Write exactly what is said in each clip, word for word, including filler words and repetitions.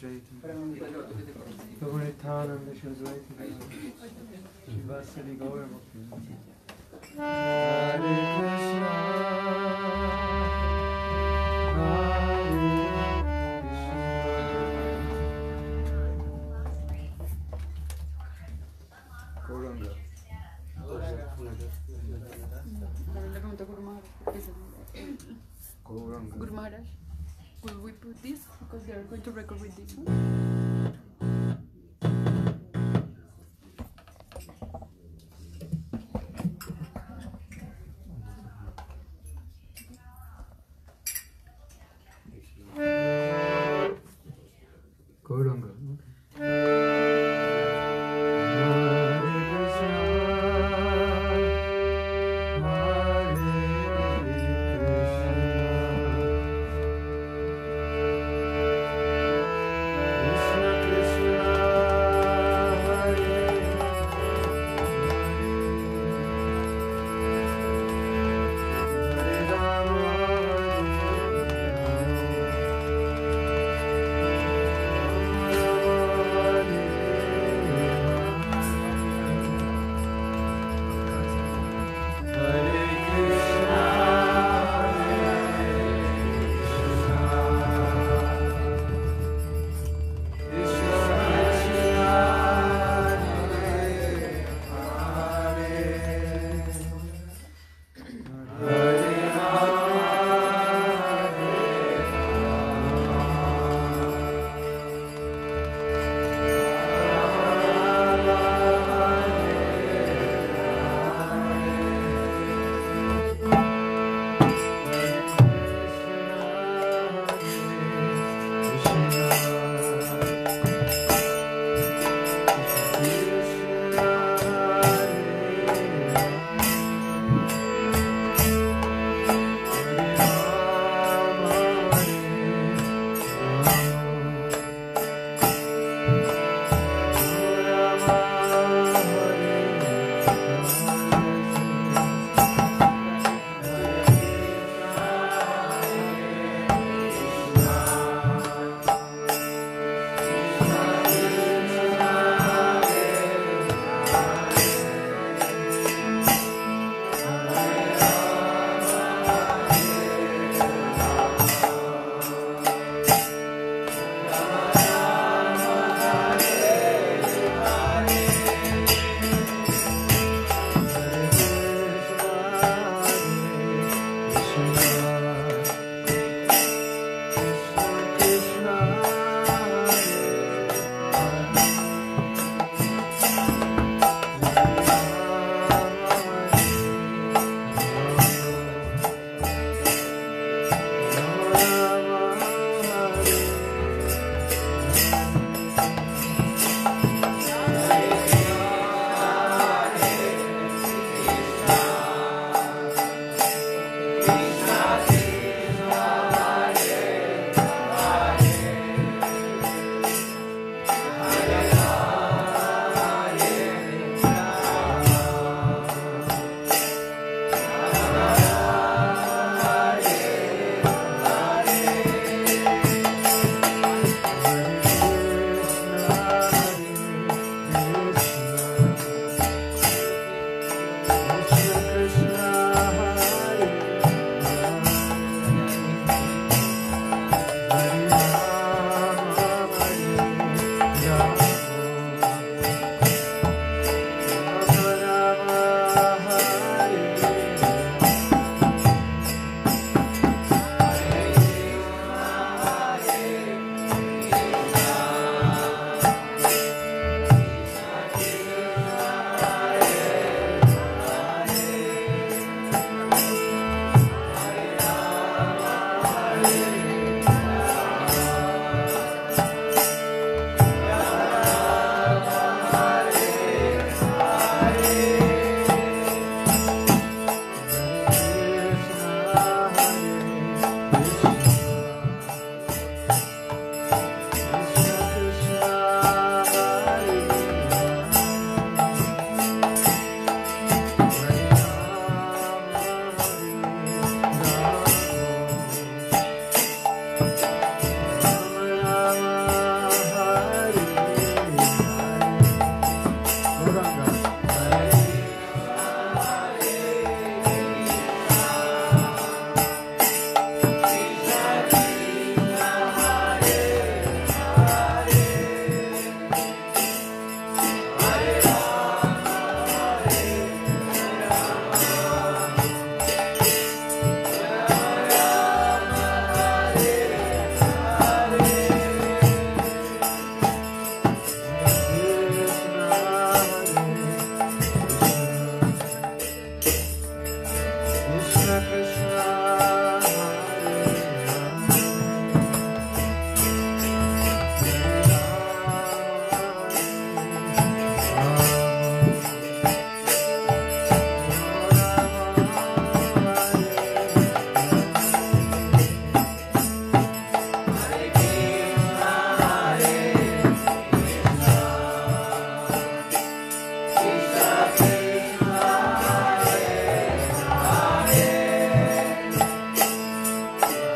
Puritanam Vishwasvaitam Shivasari Gaura Bhakti Hare Krishna Gauranga. Le pregunto a Guru Maharaj, porque es el- Gauranga. Guru Maharaj, will we put this because they are going to record with this one? Gauranga.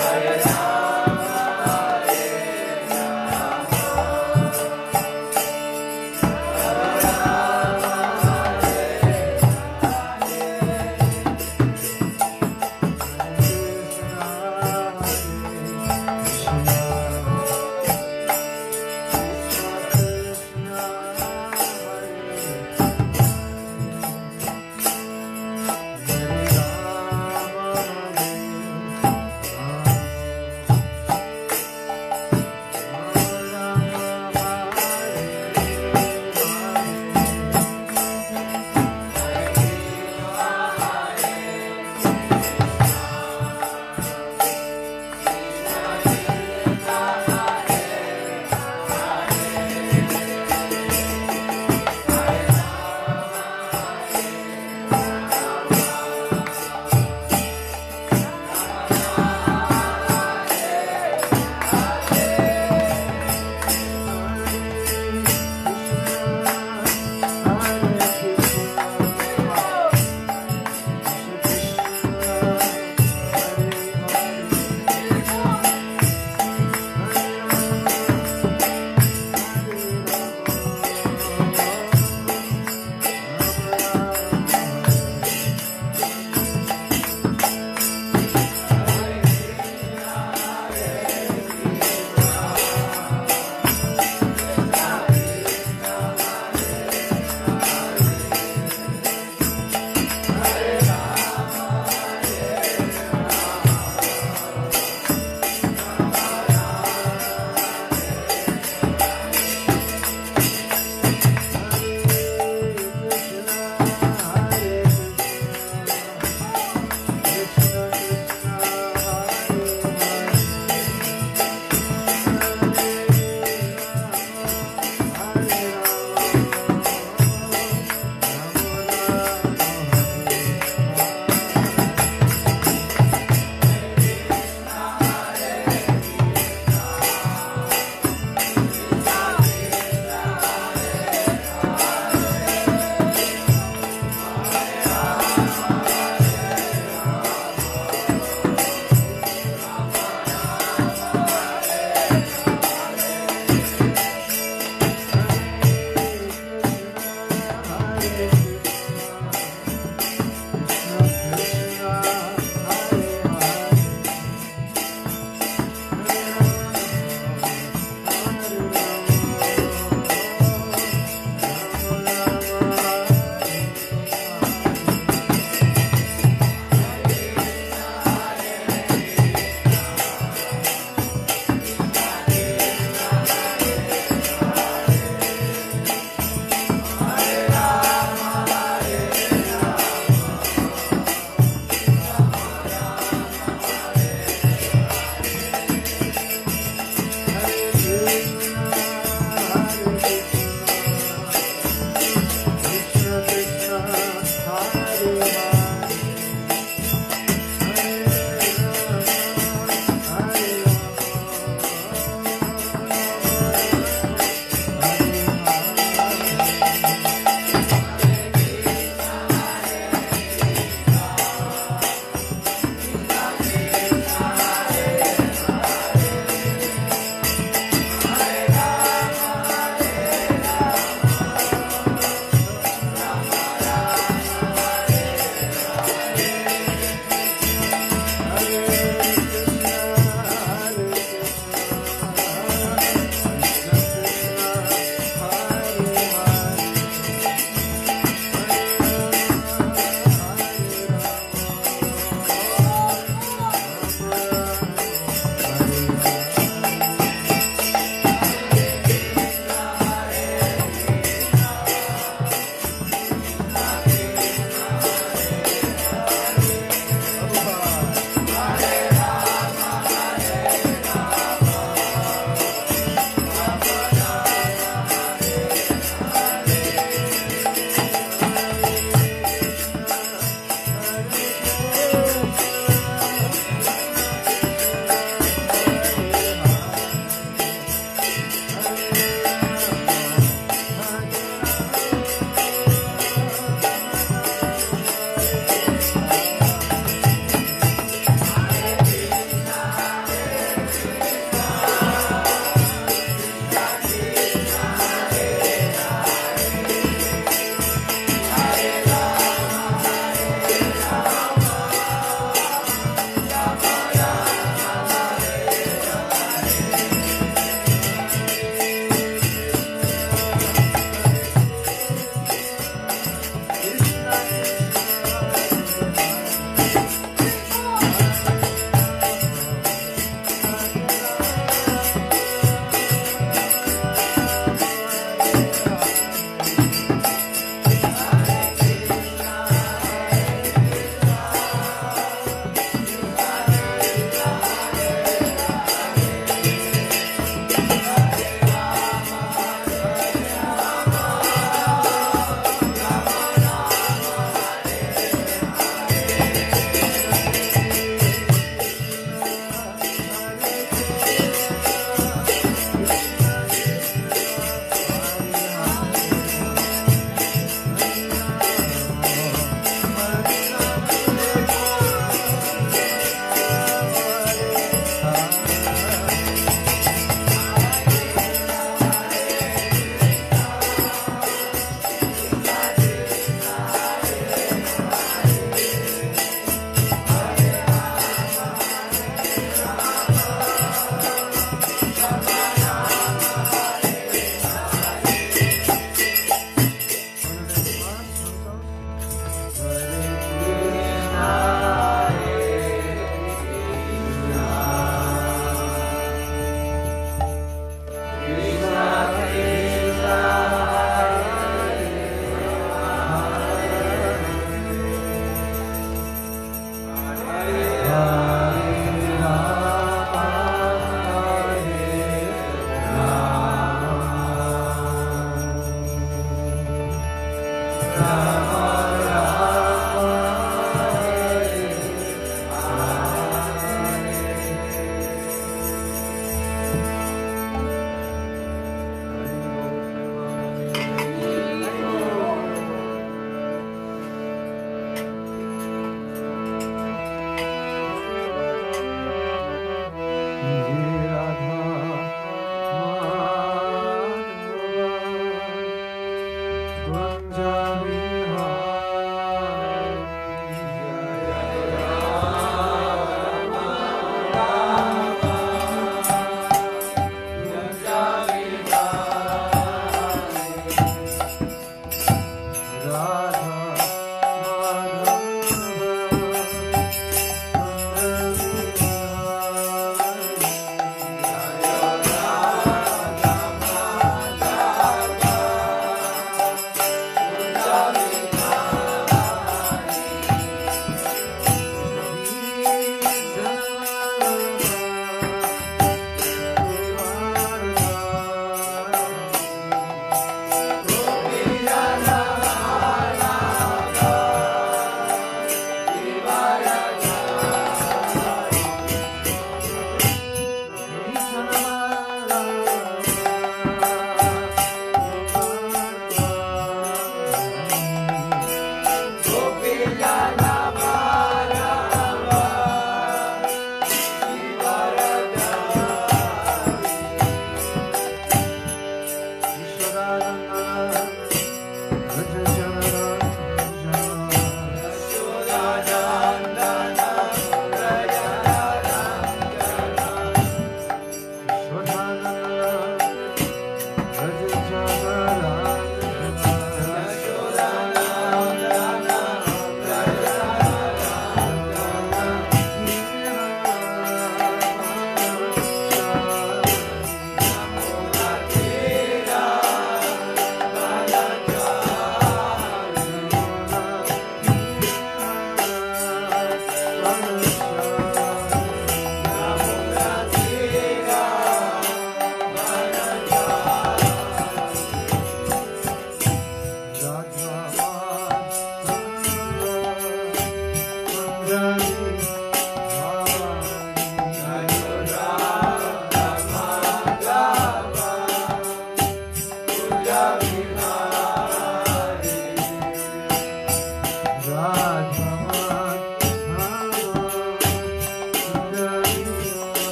Hare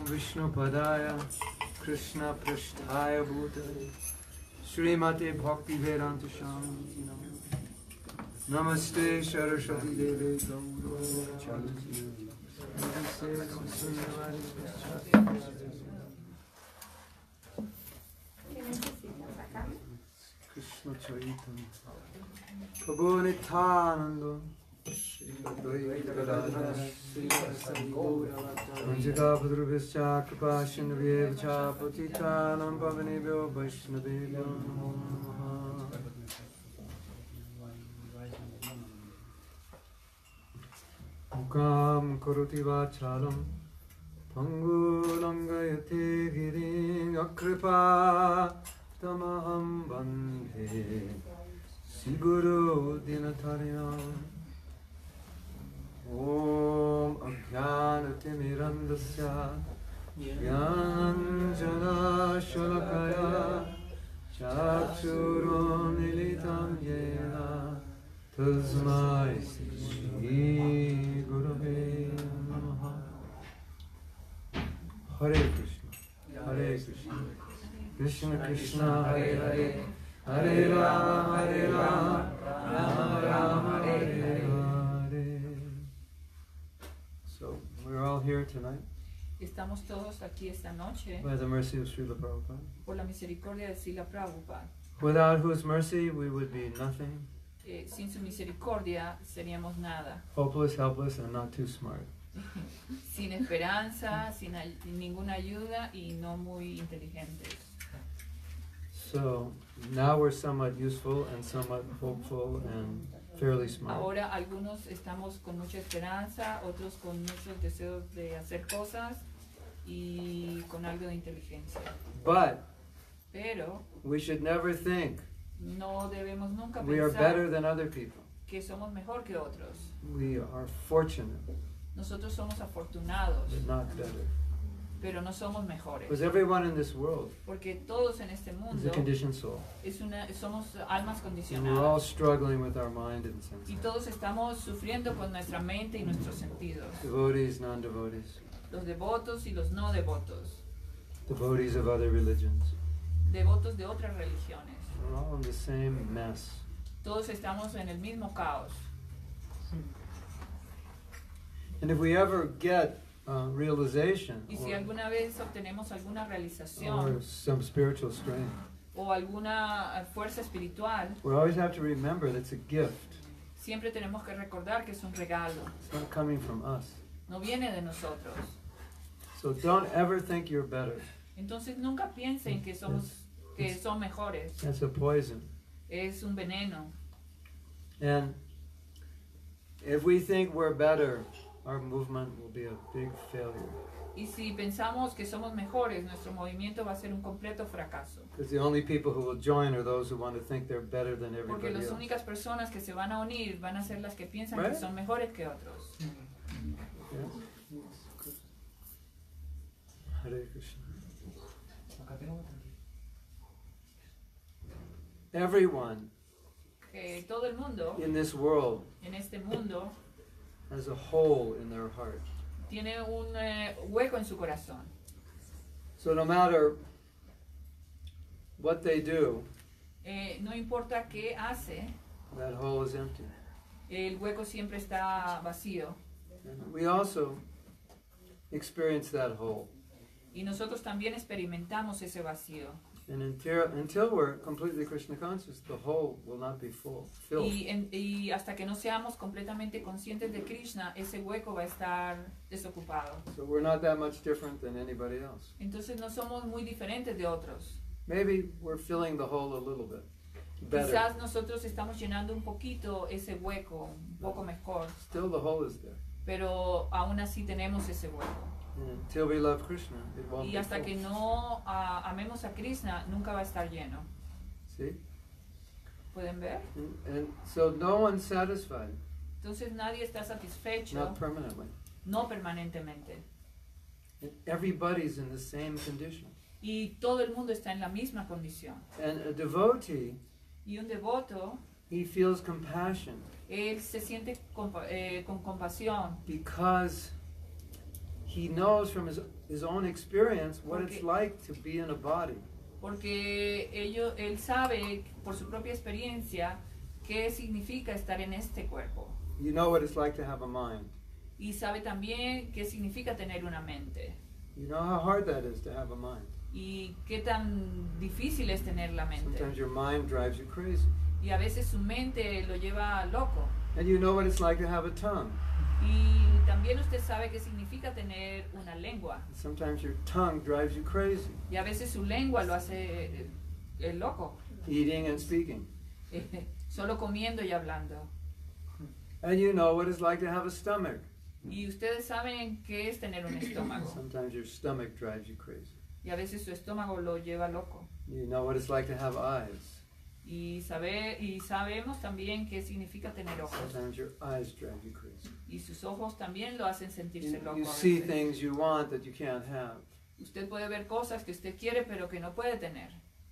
Vishnu Padaya Krishna Prasthaya Bhutale Srimate Bhakti Vedanta Swami Namaste Saraswati Deve Gauro Chalati Krishna Chaitanya Prabhu Nityananda Manjika Padruvischa Kripashin Vyevcha Patitanam Pavanebhyo Vaishnavebhyo Namo Namaha Mukam Karoti Vachalam Pangulangayate Girim Yakripa Tamaham Bandhe Siguru Dinatarinam Om Ajnanatirmirandasya Jnananjana Shalakaya Chakshurunmilitam Yena Tasmai Shri Gurave Namaha. Hare Krishna, Hare Krishna, Krishna Krishna, Hare Hare, Hare Rama, Hare Rama, Rama Rama, Hare Hare. So, we're all here tonight Estamos todos aquí esta noche by the mercy of Srila Prabhupada, por la misericordia de Srila Prabhupada. without whose mercy we would be nothing, Eh, sin su misericordia seríamos nada. hopeless, helpless, and not too smart. Sin esperanza, sin ay- ninguna ayuda y no muy inteligentes. So, now we're somewhat useful and somewhat hopeful and fairly smart. Ahora algunos estamos con mucha esperanza, otros con muchos deseos de hacer cosas y con algo de inteligencia. But Pero we should never think no debemos nunca we are better pensar than other people. que somos mejor que otros. We are fortunate, Nosotros somos afortunados, but not better. pero no somos mejores. Because everyone in this world Porque todos en este is a mundo conditioned soul. es una, somos almas And we're all condicionadas. struggling with our mind and Y senses. todos estamos sufriendo con nuestra mente y nuestros sentidos. Devotees, non-devotees, Los devotos y los no devotos. devotees of other religions. Devotos de otras religiones. We're all in the same mess. Todos estamos en el mismo caos. And if we ever get uh, realization Y si or, alguna vez obtenemos alguna or realización some spiritual strength, o alguna eh, fuerza espiritual, we always have to remember that it's a gift. siempre tenemos que recordar que es un regalo. It's not coming from us. No viene de nosotros. So don't ever think you're better. Entonces nunca piensen que somos que son mejores. That's a poison. Es un veneno. And if we think we're better, our movement will be a big failure. Y si pensamos que somos mejores, nuestro movimiento va a ser un completo fracaso. Because the only people who will join are those who want to think they're better than Porque everybody las else. únicas personas que se van a unir van a ser las que piensan Right. que son mejores que otros. Yeah? Hare Krishna. Everyone Que todo el mundo in this world en este mundo has a hole in their heart. tiene un eh, hueco en su corazón. So no matter what they do, Eh, no importa qué hace, that hole is empty. el hueco siempre está vacío. And we also experience that hole. Y nosotros también experimentamos ese vacío. And until, until we're completely Krishna conscious, the hole will not be full, filled. Y, en- y hasta que no seamos completamente conscientes de Krishna, ese hueco va a estar desocupado. So we're not that much different than anybody else. Entonces no somos muy diferentes de otros. Maybe we're filling the hole a little bit better. Quizás nosotros estamos llenando un poquito ese hueco, un poco mejor, Still the hole is there. pero aún así tenemos ese hueco. And until we love Krishna, it won't Y be hasta full. que no ah, amemos a Krishna, nunca va a estar lleno. See? ¿Pueden ver? And, and so no one's satisfied, Entonces nadie está satisfecho, not permanently. no permanentemente. And everybody's in the same condition. Y todo el mundo está en la misma condición. And a devotee, Y un devoto, he feels compassion él se siente compa- eh, con compasión because he knows from his his own experience what Porque- it's like to be in a body. Porque ello, él sabe por su propia experiencia qué significa estar en este cuerpo. You know what it's like to have a mind. Y sabe también qué significa tener una mente. You know how hard that is to have a mind. Y qué tan difícil es tener la mente. Sometimes your mind drives you crazy. Y a veces su mente lo lleva loco. And you know what it's like to have a tongue. Y también usted sabe qué significa tener una lengua. Sometimes your tongue drives you crazy. Y a veces su lengua lo hace eh, eh, loco. Eating and speaking. Solo comiendo y hablando. And you know what it's like to have a stomach. Y ustedes saben qué es tener un estómago. Sometimes your stomach drives you crazy. Y a veces su estómago lo lleva loco. You know what it's like to have eyes. Y, sabe, y sabemos también qué significa tener ojos. Sometimes your eyes drive you crazy. Y sus ojos también lo hacen sentirse You, loco. you a see veces. things you want that you can't have. Usted puede ver cosas que usted quiere pero que no puede tener.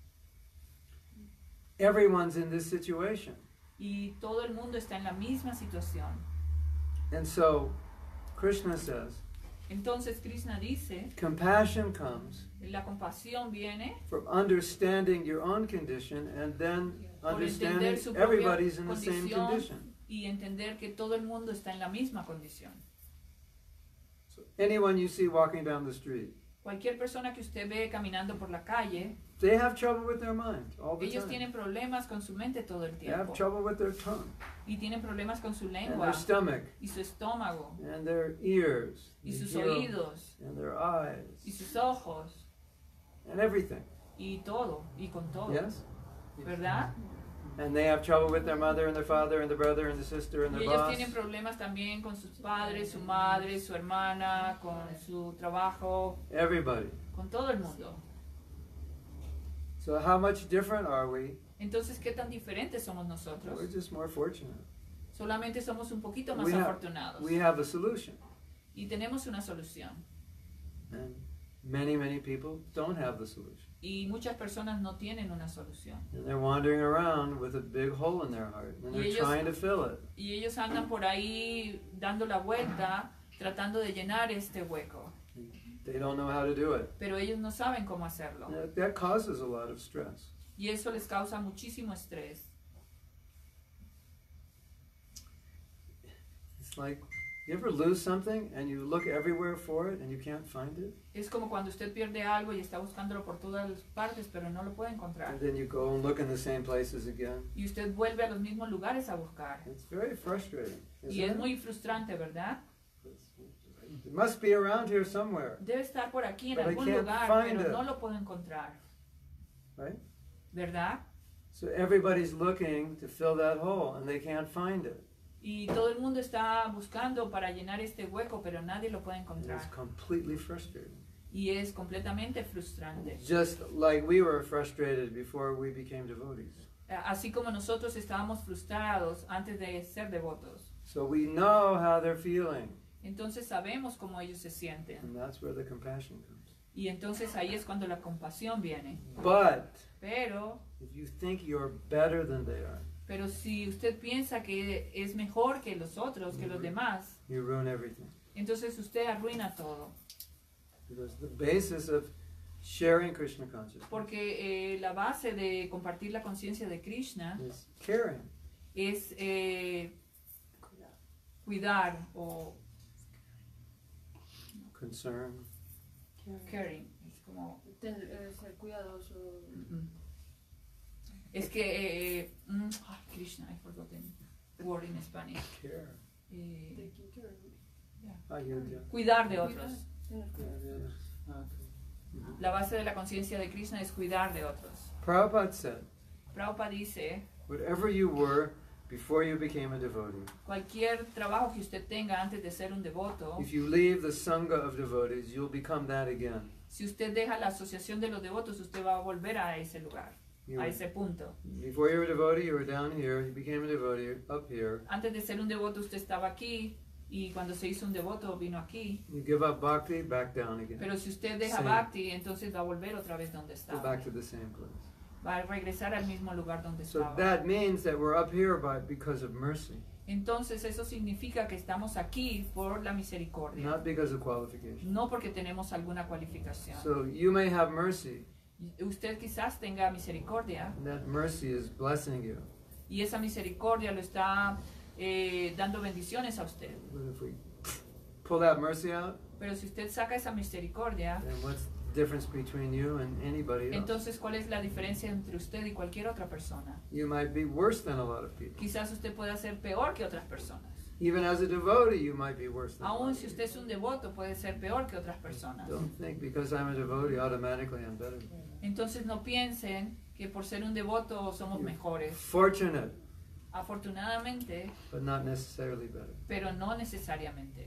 Everyone's in this situation. Y todo el mundo está en la misma situación. And so, Krishna says, Entonces Krishna dice, compassion comes la compasión viene from understanding your own condition and then por understanding entender su propia everybody's in the same condición condition. y entender que todo el mundo está en la misma condición. So anyone you see walking down the street, Cualquier persona que usted ve caminando por la calle, they have trouble with their mind all the ellos time. tienen problemas con su mente todo el They have tiempo. trouble with their tongue Y tienen problemas con su and lengua their stomach y su estómago and their ears y and sus hear- oídos and their eyes y sus ojos and everything. y todo y con todo, Yes? ¿verdad? And they have trouble with their mother and their father and their brother and their sister and Y their ellos boss. tienen problemas también con sus padres, su madre, su hermana, con su trabajo, Everybody. con todo el mundo. So how much different are we? Entonces, ¿qué tan diferentes somos We're nosotros? just more fortunate. Solamente somos un poquito más We have, afortunados. we have a solution. Y tenemos una solución. And many, many people don't have the solution. Y muchas personas no tienen una solución. And they're wandering around with a big hole in their heart. And Y they're ellos- trying to fill it. Y ellos andan por ahí dando la vuelta, tratando de llenar este hueco. They don't know how to do it. Pero ellos no saben cómo hacerlo. And that- that causes a lot of stress. Y eso les causa muchísimo estrés. It's like, you ever lose something and you look everywhere for it and you can't find it? Es como cuando usted pierde algo y está buscándolo por todas las partes, pero no lo puede encontrar. And then you go and look in the same places again. Y usted vuelve a los mismos lugares a buscar. It's very frustrating. Y Isn't es it? muy frustrante, ¿verdad? It must be around here somewhere, Debe estar por aquí en But I algún can't lugar, find pero it. no lo puedo encontrar. right? ¿Verdad? So everybody's looking to fill that hole and they can't find it. Y todo el mundo está buscando para llenar este hueco, pero nadie lo puede And encontrar. it's completely frustrating. Y es completamente frustrante. Just like we were frustrated before we became devotees. Así como nosotros estábamos frustrados antes de ser devotos. So we know how they're feeling. Entonces sabemos cómo ellos se sienten. And that's where the compassion comes. Y entonces ahí es cuando la compasión viene. But Pero, if you think you're better than they are, pero si usted piensa que es mejor que los otros, que los demás, you ruin everything. entonces usted arruina todo. Because the basis of sharing Krishna consciousness Porque eh, la base de compartir la conciencia de Krishna is caring. es eh, cuidar o Concern. caring. Es como... Ten- eh, ser cuidadoso. mm, Es que... eh, mm, ay, Krishna, I forgot the word in Spanish. Care. Eh, Taking care. Ayodhya. cuidar de otros. Tener cuidado. La base de la conciencia de Krishna es cuidar de otros. Prabhupada said, Prabhupada dice, whatever you were before you became a devotee, cualquier trabajo que usted tenga antes de ser un devoto, if you leave the sangha of devotees, you'll become that again. si usted deja la asociación de los devotos, usted va a volver a ese lugar, You a were- ese punto. before you were a devotee, you were down here. You became a devotee up here. Antes de ser un devoto, usted estaba aquí, y cuando se hizo un devoto, vino aquí. You give up bhakti, back down again. Pero si usted deja Sí. bhakti, entonces va a volver otra vez donde Go estaba. back to the same place. Va a regresar al mismo lugar donde So estaba. that means that we're up here by because of mercy. Entonces eso significa que estamos aquí por la misericordia, not because of qualification. no porque tenemos alguna cualificación. So you may have mercy, Usted quizás tenga misericordia and that mercy is blessing you. y esa misericordia lo está eh, dando bendiciones a usted. But if we pull that mercy out, Pero si usted saca esa misericordia, then what's the difference between you and anybody else? entonces ¿cuál es la diferencia entre usted y cualquier otra persona? You might be worse than a lot of people. Quizás usted pueda ser peor que otras personas. Even as a devotee, you might be worse than a lot Aún of si people. usted es un devoto, puede ser peor que otras personas. Don't think because I'm a devotee, automatically I'm better. Entonces no piensen que por ser un devoto somos mejores. Fortunate, Afortunadamente, but not necessarily better. pero no necesariamente.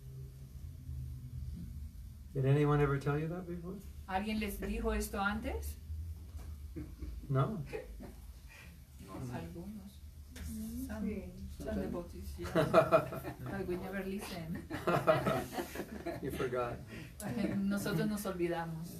Did anyone ever tell you that before? ¿Alguien les dijo esto antes? No. Algunos. Some, some devotees, yeah. But we never listen. You forgot. Nosotros nos olvidamos.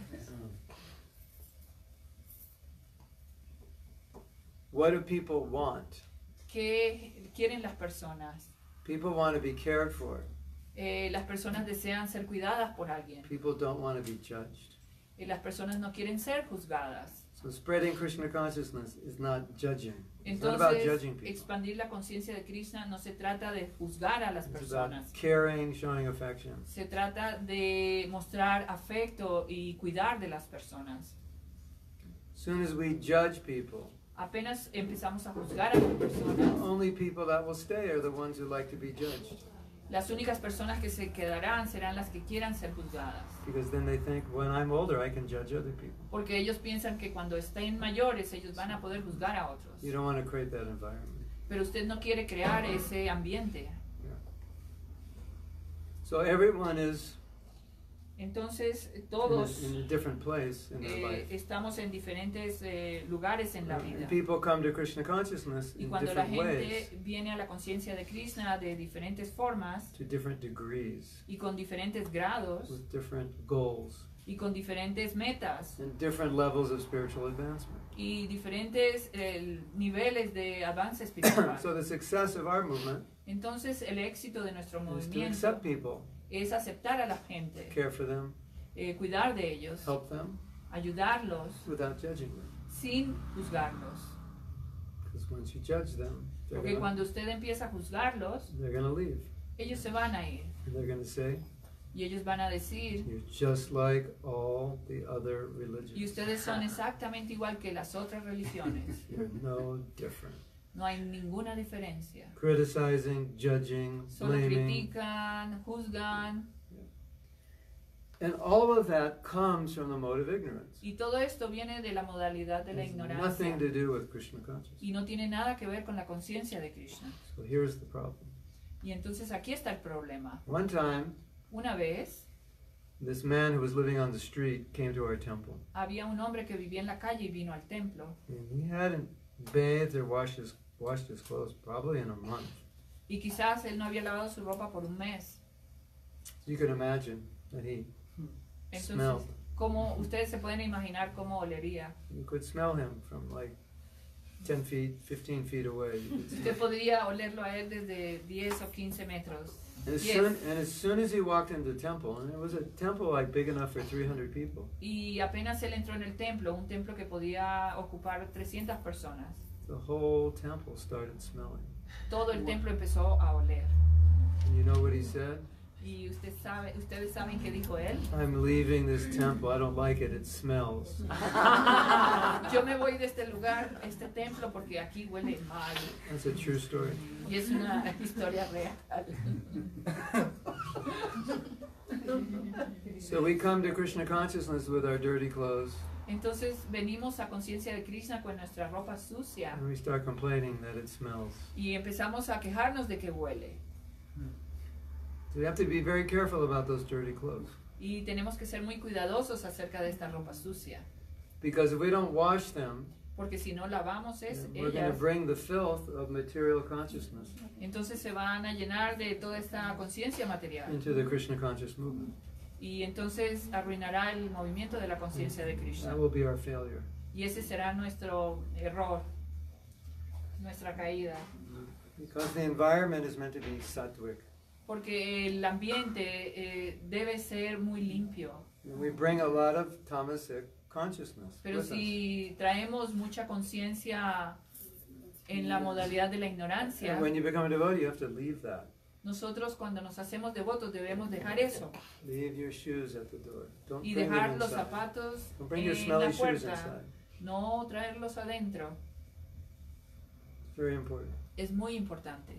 What do people want? ¿Qué quieren las personas? People want to be cared for. Eh, las personas desean ser cuidadas por alguien. People don't want to be judged. Eh, las personas no quieren ser juzgadas. So spreading Krishna consciousness is not judging. It's not about Entonces, judging people. expandir la conciencia de Krishna no se trata de juzgar a las It's about personas. caring, showing affection. Se trata de mostrar afecto y cuidar de las personas. As soon as we judge people, Apenas empezamos a juzgar a las personas, only people that will stay are the ones who like to be judged. las únicas personas que se quedarán serán las que quieran ser juzgadas. Because then they think, when I'm older, I can judge other people. Porque ellos piensan que cuando estén mayores ellos van a poder juzgar a otros. You don't want to create that environment. Pero usted no quiere crear ese ambiente. So everyone is Entonces in a, todos in a different place in their eh, life. estamos en diferentes eh, lugares en la vida. And people come to Krishna consciousness Y in cuando la different gente ways, viene a la conciencia de Krishna de diferentes formas to different degrees, y con diferentes grados with different goals, y con diferentes metas and different levels of spiritual advancement. y diferentes eh, niveles de avance espiritual. So the success of our movement Entonces el éxito de nuestro is to movimiento accept people, es aceptar a la gente, care for them, eh, cuidar de ellos, help them, ayudarlos without judging them. sin juzgarlos. Because once you judge them, they're Porque gonna, cuando usted empieza a juzgarlos, they're gonna leave. ellos se van a ir And they're gonna say, y ellos van a decir, you're just like all the other y religions. ustedes son exactamente igual que las otras religiones. You're no different. No hay ninguna diferencia. Criticizing, judging, Solo blaming. critican, juzgan. And all of that comes from the mode of ignorance. Y todo esto viene de la modalidad de la It has ignorancia. nothing to do with Krishna consciousness. Y no tiene nada que ver con la conciencia de Krishna. So here's the problem. Y entonces aquí está el problema. One time, Una vez this man who was living on the street came to our temple. había un hombre que vivía en la calle y vino al templo. And he hadn't bathed or washed his, washed his clothes probably in a month. Y quizás él no había lavado su ropa por un mes. So you can imagine that he Entonces, smelled. ¿cómo ustedes se pueden imaginar cómo olería? You could smell him from like ten feet, fifteen feet away. You could smell Usted podría olerlo a él desde diez o quince metros. And as, Yes. soon, and as soon as he walked into the temple, and it was a temple like big enough for three hundred people, Y apenas él entró en el templo, un templo que podía ocupar trescientas personas, the whole temple started smelling. todo el templo empezó a oler. And you know what he said? Y usted sabe, ustedes saben qué dijo él. I'm leaving this temple. I don't like it. It smells. Yo me voy de este lugar, este templo, porque aquí huele mal. That's a true story. Y es una historia real. So we come to Krishna consciousness with our dirty clothes, Entonces venimos a conciencia de Krishna con nuestra ropa sucia and we start complaining that it smells. y empezamos a quejarnos de que huele. So we have to be very careful about those dirty clothes. Y tenemos que ser muy cuidadosos acerca de esta ropa sucia, Because if we don't wash them, porque si no lavamos es we're going to ellas, bring the filth of material consciousness entonces se van a llenar de toda esta conciencia material. into the Krishna conscious movement. Y entonces arruinará el movimiento de la conciencia de Krishna. That will be our failure. Y ese será nuestro error, nuestra caída. Because the environment is meant to be sattvic. Porque el ambiente eh, debe ser muy limpio. And we bring a lot of tamasic consciousness Pero with us. si traemos mucha conciencia en la modalidad de la ignorancia, And when you become a devotee, you have to leave that. nosotros cuando nos hacemos devotos debemos dejar eso Leave your shoes at the door. Don't y bring them dejar los inside. zapatos Don't bring your en smelly la shoes puerta, inside. no traerlos adentro. It's very important. Es muy importante.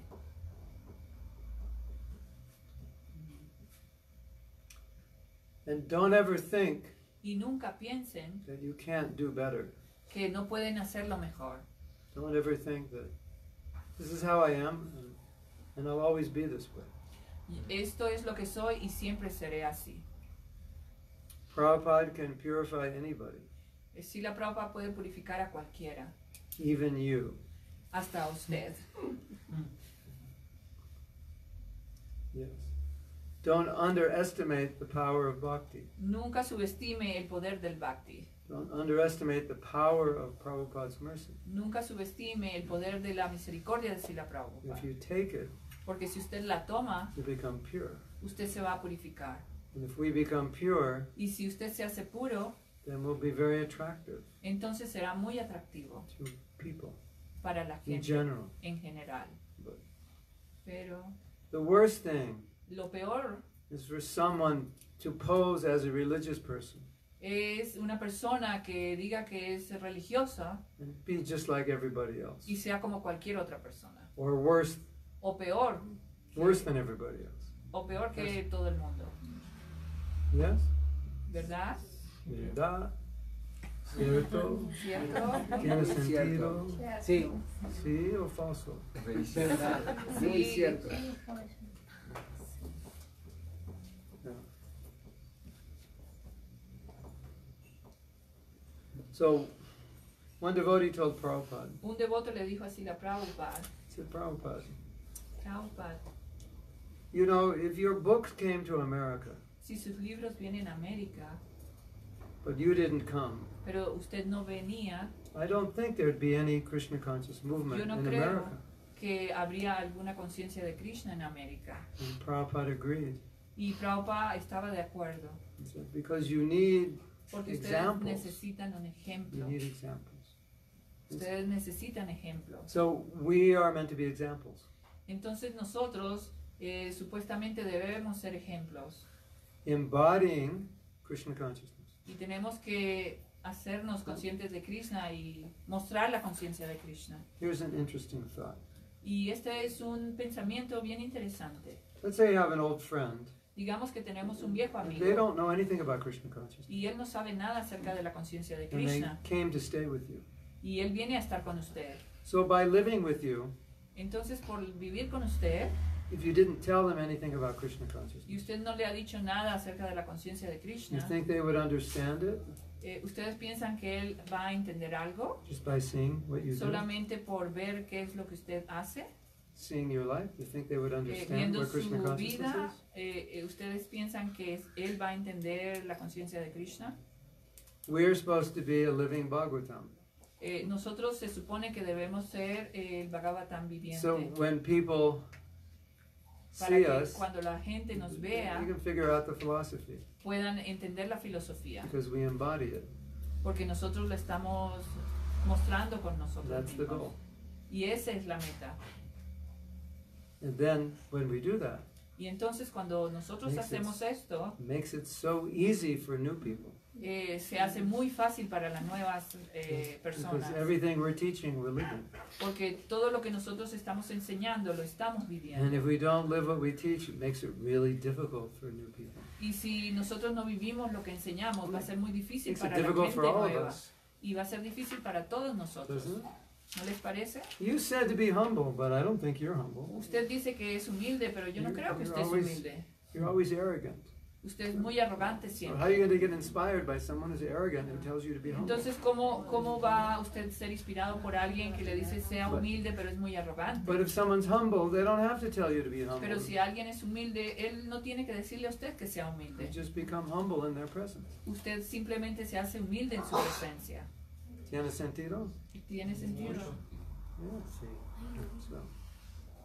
And don't ever think Y nunca piensen that you can't do better. que no pueden hacerlo mejor. Don't ever think that this is how I am and, and I'll always be this way. Esto es lo que soy y siempre seré así. Prabhupada can purify anybody, Srila Prabhupada puede purificar a cualquiera, even you. hasta a usted. Yes. Don't underestimate the power of bhakti. Nunca subestime el poder del bhakti. Don't underestimate the power of Prabhupada's mercy. Nunca subestime el poder de la misericordia de Srila Prabhupada. If you take it, Porque si usted la toma, you become pure. usted se va a purificar. And if we become pure, Y si usted se hace puro, then we'll be very attractive entonces será muy atractivo to people para la in gente general. en general. But Pero the worst thing lo peor is for someone to pose as a religious person es una persona que diga que es religiosa and be just like everybody else. y sea como cualquier otra persona. Or worse, O peor, worse than everybody else. o peor que todo el mundo. Yes? ¿Verdad? ¿Verdad? ¿Cierto? ¿Cierto? ¿Tiene Cierto. sentido? Sí, ¿Sí o falso? verdad, muy Sí. cierto. Yeah. So, one devotee told Prabhupada, Un devoto le dijo así a Prabhupada, he said, Prabhupada, Prabhupada, you know, if your books came to America, si sus libros vienen a América, but you didn't come, pero usted no venía, I don't think there'd be any Krishna conscious movement yo no in creo America. que habría alguna conciencia de Krishna en América. And Prabhupada agreed. Y Prabhupada estaba de acuerdo, He said, because you need, porque ustedes Examples. necesitan un you ejemplo. need examples. Ustedes necesitan ejemplos. So we are meant to be examples. Entonces nosotros eh, supuestamente debemos ser ejemplos Embodying Krishna consciousness. y tenemos que hacernos conscientes de Krishna y mostrar la conciencia de Krishna. Here's an interesting thought. Y este es un pensamiento bien interesante. Let's say you have an old friend. Digamos que tenemos un viejo They amigo don't know anything about Krishna consciousness. y él no sabe nada acerca de la conciencia de And they Krishna came to stay with you. y él viene a estar con usted. So by living with you, Entonces, por vivir con usted if you didn't tell them anything about Krishna y consciousness, usted no le ha dicho nada acerca de la conciencia de you Krishna, think they would understand it eh, ¿ustedes piensan que él va a entender algo just by seeing what you do? solamente por ver qué es lo que usted hace? Seeing your life? You think they would Eh, understand viendo what su Krishna consciousness vida, is? eh, eh, ¿ustedes piensan que es- él va a entender la conciencia de Krishna? We're supposed to be a living Bhagavatam. Eh, nosotros se supone que debemos ser eh, el Bhagavatam viviente. So when people para see que us, cuando la gente nos you vea can figure out the philosophy puedan entender la filosofía, because we embody it. porque nosotros la estamos mostrando con nosotros That's the mismos. goal. Y esa es la meta. And then when we do that, Y entonces cuando nosotros Makes it- hacemos esto, it makes it so easy for new people. eh, se hace muy fácil para las nuevas eh, personas, Because everything we're teaching, we're living. porque todo lo que nosotros estamos enseñando lo estamos And viviendo. if we don't live what we teach, it makes it really difficult for new people. Y si nosotros no vivimos lo que enseñamos, va a ser muy It difícil makes it para la difficult gente for all of nueva. us, Y va a ser difícil para todos nosotros. doesn't it? ¿No les parece? You said to be humble, but I don't think you're humble. Usted dice que es humilde, pero yo no You're- creo que you're usted es always- humilde. You're always arrogant. Usted es muy arrogante So siempre. how are you going to get inspired by someone who's arrogant who tells you to be humble? Entonces, ¿cómo, ¿cómo va usted a ser inspirado por alguien que le dice sea humilde, pero es muy arrogante? But if someone's humble, they don't have to tell you to be humble. Pero si alguien es humilde, él no tiene que decirle a usted que sea You humilde. just become humble in their presence. Usted simplemente se hace humilde en su presencia. ¿Tiene sentido? ¿Tiene sentido? Yeah. So,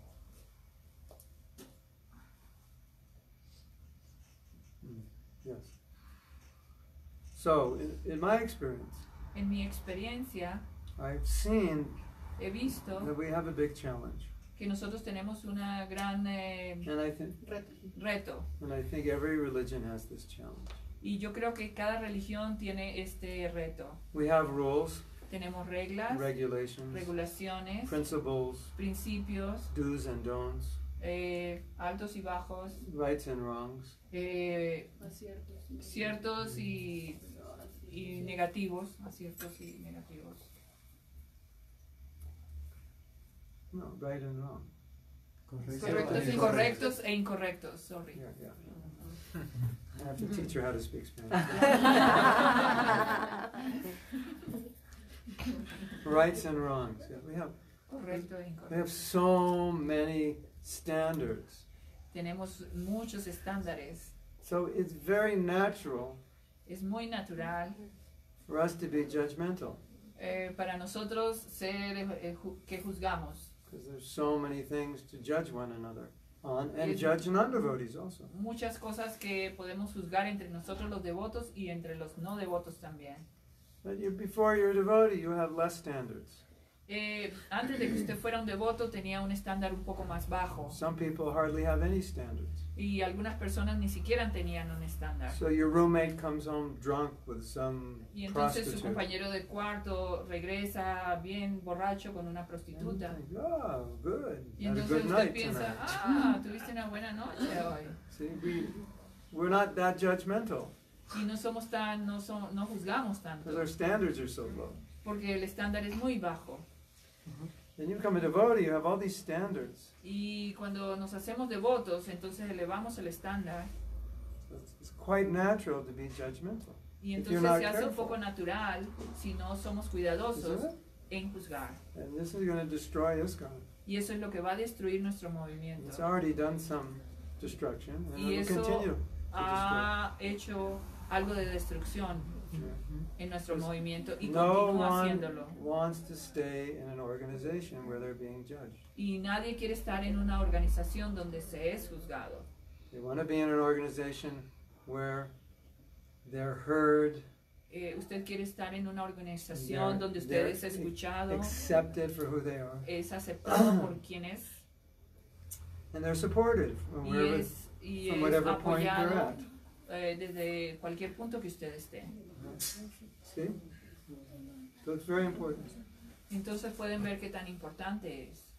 Yes. So, in, in my experience, En mi experiencia, I've seen he visto that we have a big challenge, que nosotros tenemos una gran eh, and I think, reto. and I think every religion has this challenge. Y yo creo que cada religión tiene este reto. We have rules, Tenemos reglas, regulations, regulaciones, principles, principios, do's and don'ts, eh, altos y bajos, rights and wrongs. eh, ciertos y, y negativos, aciertos y negativos. No, right and wrong. Correctos, incorrectos e incorrectos, sorry. Yeah, yeah. I have to teach her how to speak Spanish. Rights and wrongs. Yeah, we have Correcto e we incorrecto. have so many standards. Tenemos muchos estándares. So it's very natural Es muy natural for us to be judgmental eh, para nosotros ser eh, ju- que juzgamos. because there's so many things to judge one another on and Yes. judge non-devotees also. Muchas cosas que podemos juzgar entre nosotros los devotos y entre los no devotos también. But you, before you're a devotee, you have less standards. Eh, antes de que usted fuera un devoto tenía un estándar un poco más bajo Some people hardly have any standards. y algunas personas ni siquiera tenían un estándar. So your roommate comes home drunk with some Y entonces su prostitute. compañero de cuarto regresa bien borracho con una And you prostituta. think, oh, good. Y Had a entonces good usted night piensa, tonight. ah, tuviste una buena noche hoy. See, we, we're not that judgmental Y no somos tan, no, som- no juzgamos tanto, because our standards are so low. porque el estándar es muy bajo. Then you become a devotee, you have all these standards. Y cuando nos hacemos devotos, entonces elevamos el estándar. So it's, it's quite natural to be judgmental. Y If you're entonces not se hace un careful. poco natural si no somos Isn't cuidadosos it? en juzgar. And this is going to destroy ISKCON. Y eso es lo que va a destruir nuestro It's movimiento. already done some destruction, and Y it will eso continue to ha hecho algo de destrucción destroy. en nuestro Pues, movimiento y No continúa one haciéndolo. wants to stay in an organization where they're being judged. Y nadie quiere estar en una organización donde se es juzgado. They want to be in an organization where they're heard, Eh, usted quiere estar en una they're, organización donde usted they're es escuchado, accepted for who they are, es aceptado por quien es and they're supported from y wherever, es, y from es whatever point they're apoyado at. eh, desde cualquier punto que usted esté. See? So it's very important. Entonces pueden ver qué tan importante es.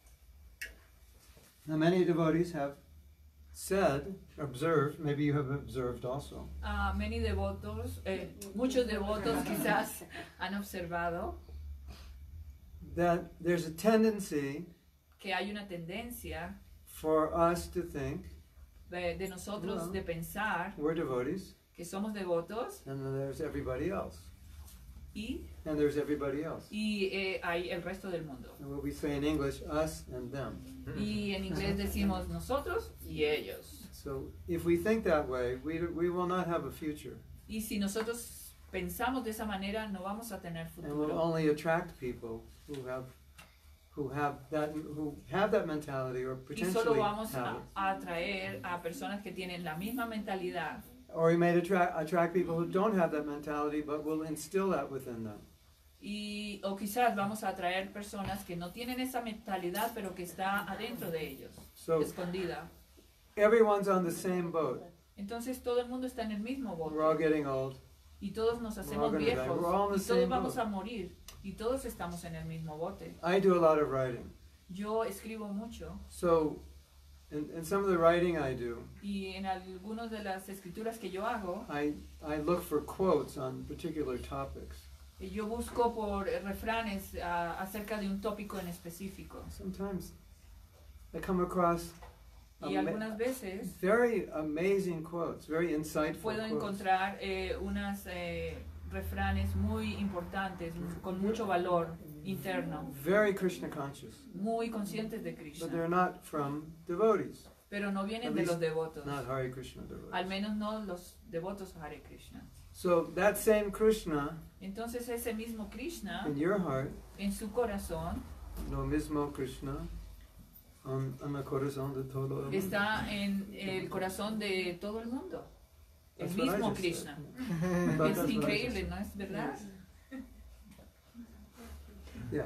Now, many devotees have said, observed, maybe you have observed also, Ah, many devotos, eh, muchos devotos quizás han observado that there's a tendency que hay una tendencia for us to think de, de nosotros Well. de pensar we're devotees, que somos devotos and then there's everybody else, y, and there's everybody else. y eh, hay el resto del mundo. And what we say in English, us and them. Y en inglés decimos nosotros y ellos. So if we think that way, we, we will not have a future, Y si nosotros pensamos de esa manera, no vamos a tener and we'll futuro. only attract people who have who have that who have that mentality or Y solo potentially vamos have a, it. a atraer a personas que tienen la misma mentalidad. Or we may attract attract people who don't have that mentality, but will instill that within them. Y, o quizás vamos a atraer personas que no tienen esa mentalidad, pero que está adentro de ellos, So escondida. everyone's on the same boat. Entonces todo el mundo está en el mismo We're all bote. getting old. Y todos nos hacemos gonna die. viejos. We're all in the Y todos same vamos boat. a morir. Y todos estamos en el mismo bote. I do a lot of writing. Yo escribo mucho. So in, in some of the writing I do, Y en algunas de las escrituras que yo hago, I, I look for quotes on particular topics. yo busco por eh, refranes ah, acerca de un tópico en específico. Sometimes I come across Y ama- algunas veces very amazing quotes, very insightful puedo quotes. encontrar eh, unas eh, refranes muy importantes, m- con mucho valor interno, Very Krishna conscious, muy conscientes de but Krishna, they're not from devotees, pero no vienen At de least los devotos, not Hare Krishna devotees. al menos no los devotos a Hare Krishna. So that same Krishna Entonces ese mismo Krishna in your heart, en su corazón lo mismo Krishna en, en el corazón de todo el mundo. está en el corazón de todo el mundo. el That's what I mismo just Krishna. said. But Es that's what I increíble, just ¿no es verdad? said. Yeah.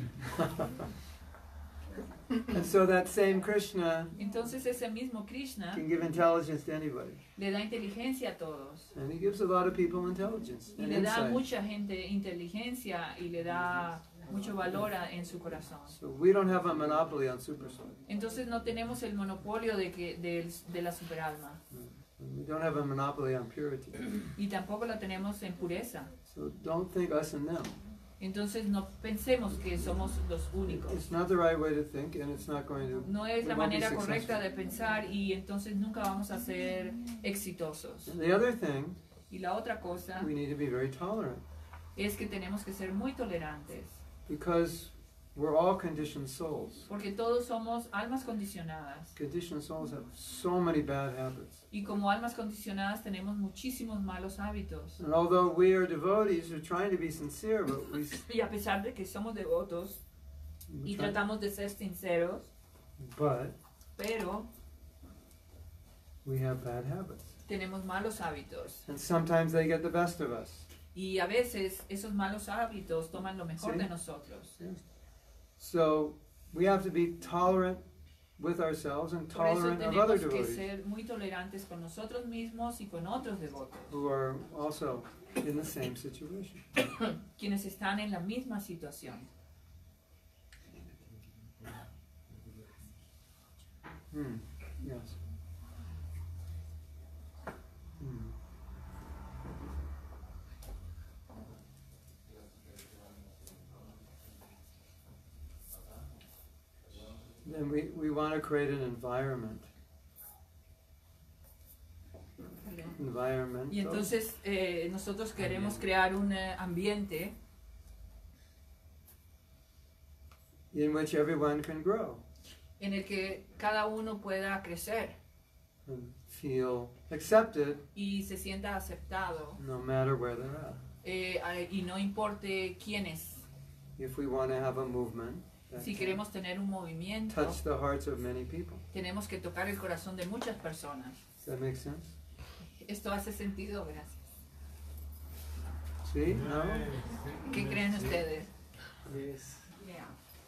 And so that same Krishna Entonces ese mismo Krishna can give intelligence to anybody. le da inteligencia a todos. And he gives a lot of people intelligence Y and le da a insight. mucha gente inteligencia y le da mucho valor a- en su corazón. So we don't have a monopoly on super soul. Entonces no tenemos el monopolio de, que, de, de la superalma. We don't have a monopoly on purity. Y tampoco la tenemos en pureza. So don't think us and them. Entonces no pensemos que somos los únicos. It's not the right way to think, and it's not going to. No es we la won't be manera correcta successful. de pensar y entonces nunca vamos a ser exitosos. And the other thing, Y la otra cosa we need to be very tolerant es que tenemos que ser muy tolerantes, because we're all conditioned souls. porque todos somos almas condicionadas. Conditioned souls have so many bad habits. Y como almas condicionadas tenemos muchísimos malos hábitos. And although we are devotees, we're trying to be sincere, but we, Y a pesar de que somos devotos y we try, tratamos de ser sinceros, but pero we have bad habits. tenemos malos hábitos. And sometimes they get the best of us. Y a veces esos malos hábitos toman lo mejor Sí. de nosotros. So we have to be tolerant with ourselves and Por eso tolerant of other tenemos que devotees ser muy tolerantes con nosotros mismos y con otros devotos, who are also in the same situation. quienes están en la misma situación. Hmm. Yes. Hmm. Then we, we want to create an environment. Environment. Y entonces eh, nosotros queremos crear un eh, ambiente In which everyone can grow en el que cada uno pueda crecer and feel accepted y se sienta aceptado, no matter where they're at. eh, a- y no importe quién es. If we want to have a movement that Si can queremos tener un movimiento, touch the hearts of many people. tenemos que tocar el corazón de muchas personas. Does that make sense? Esto hace sentido, gracias. See? No? ¿Qué creen ustedes? Yes. Yeah.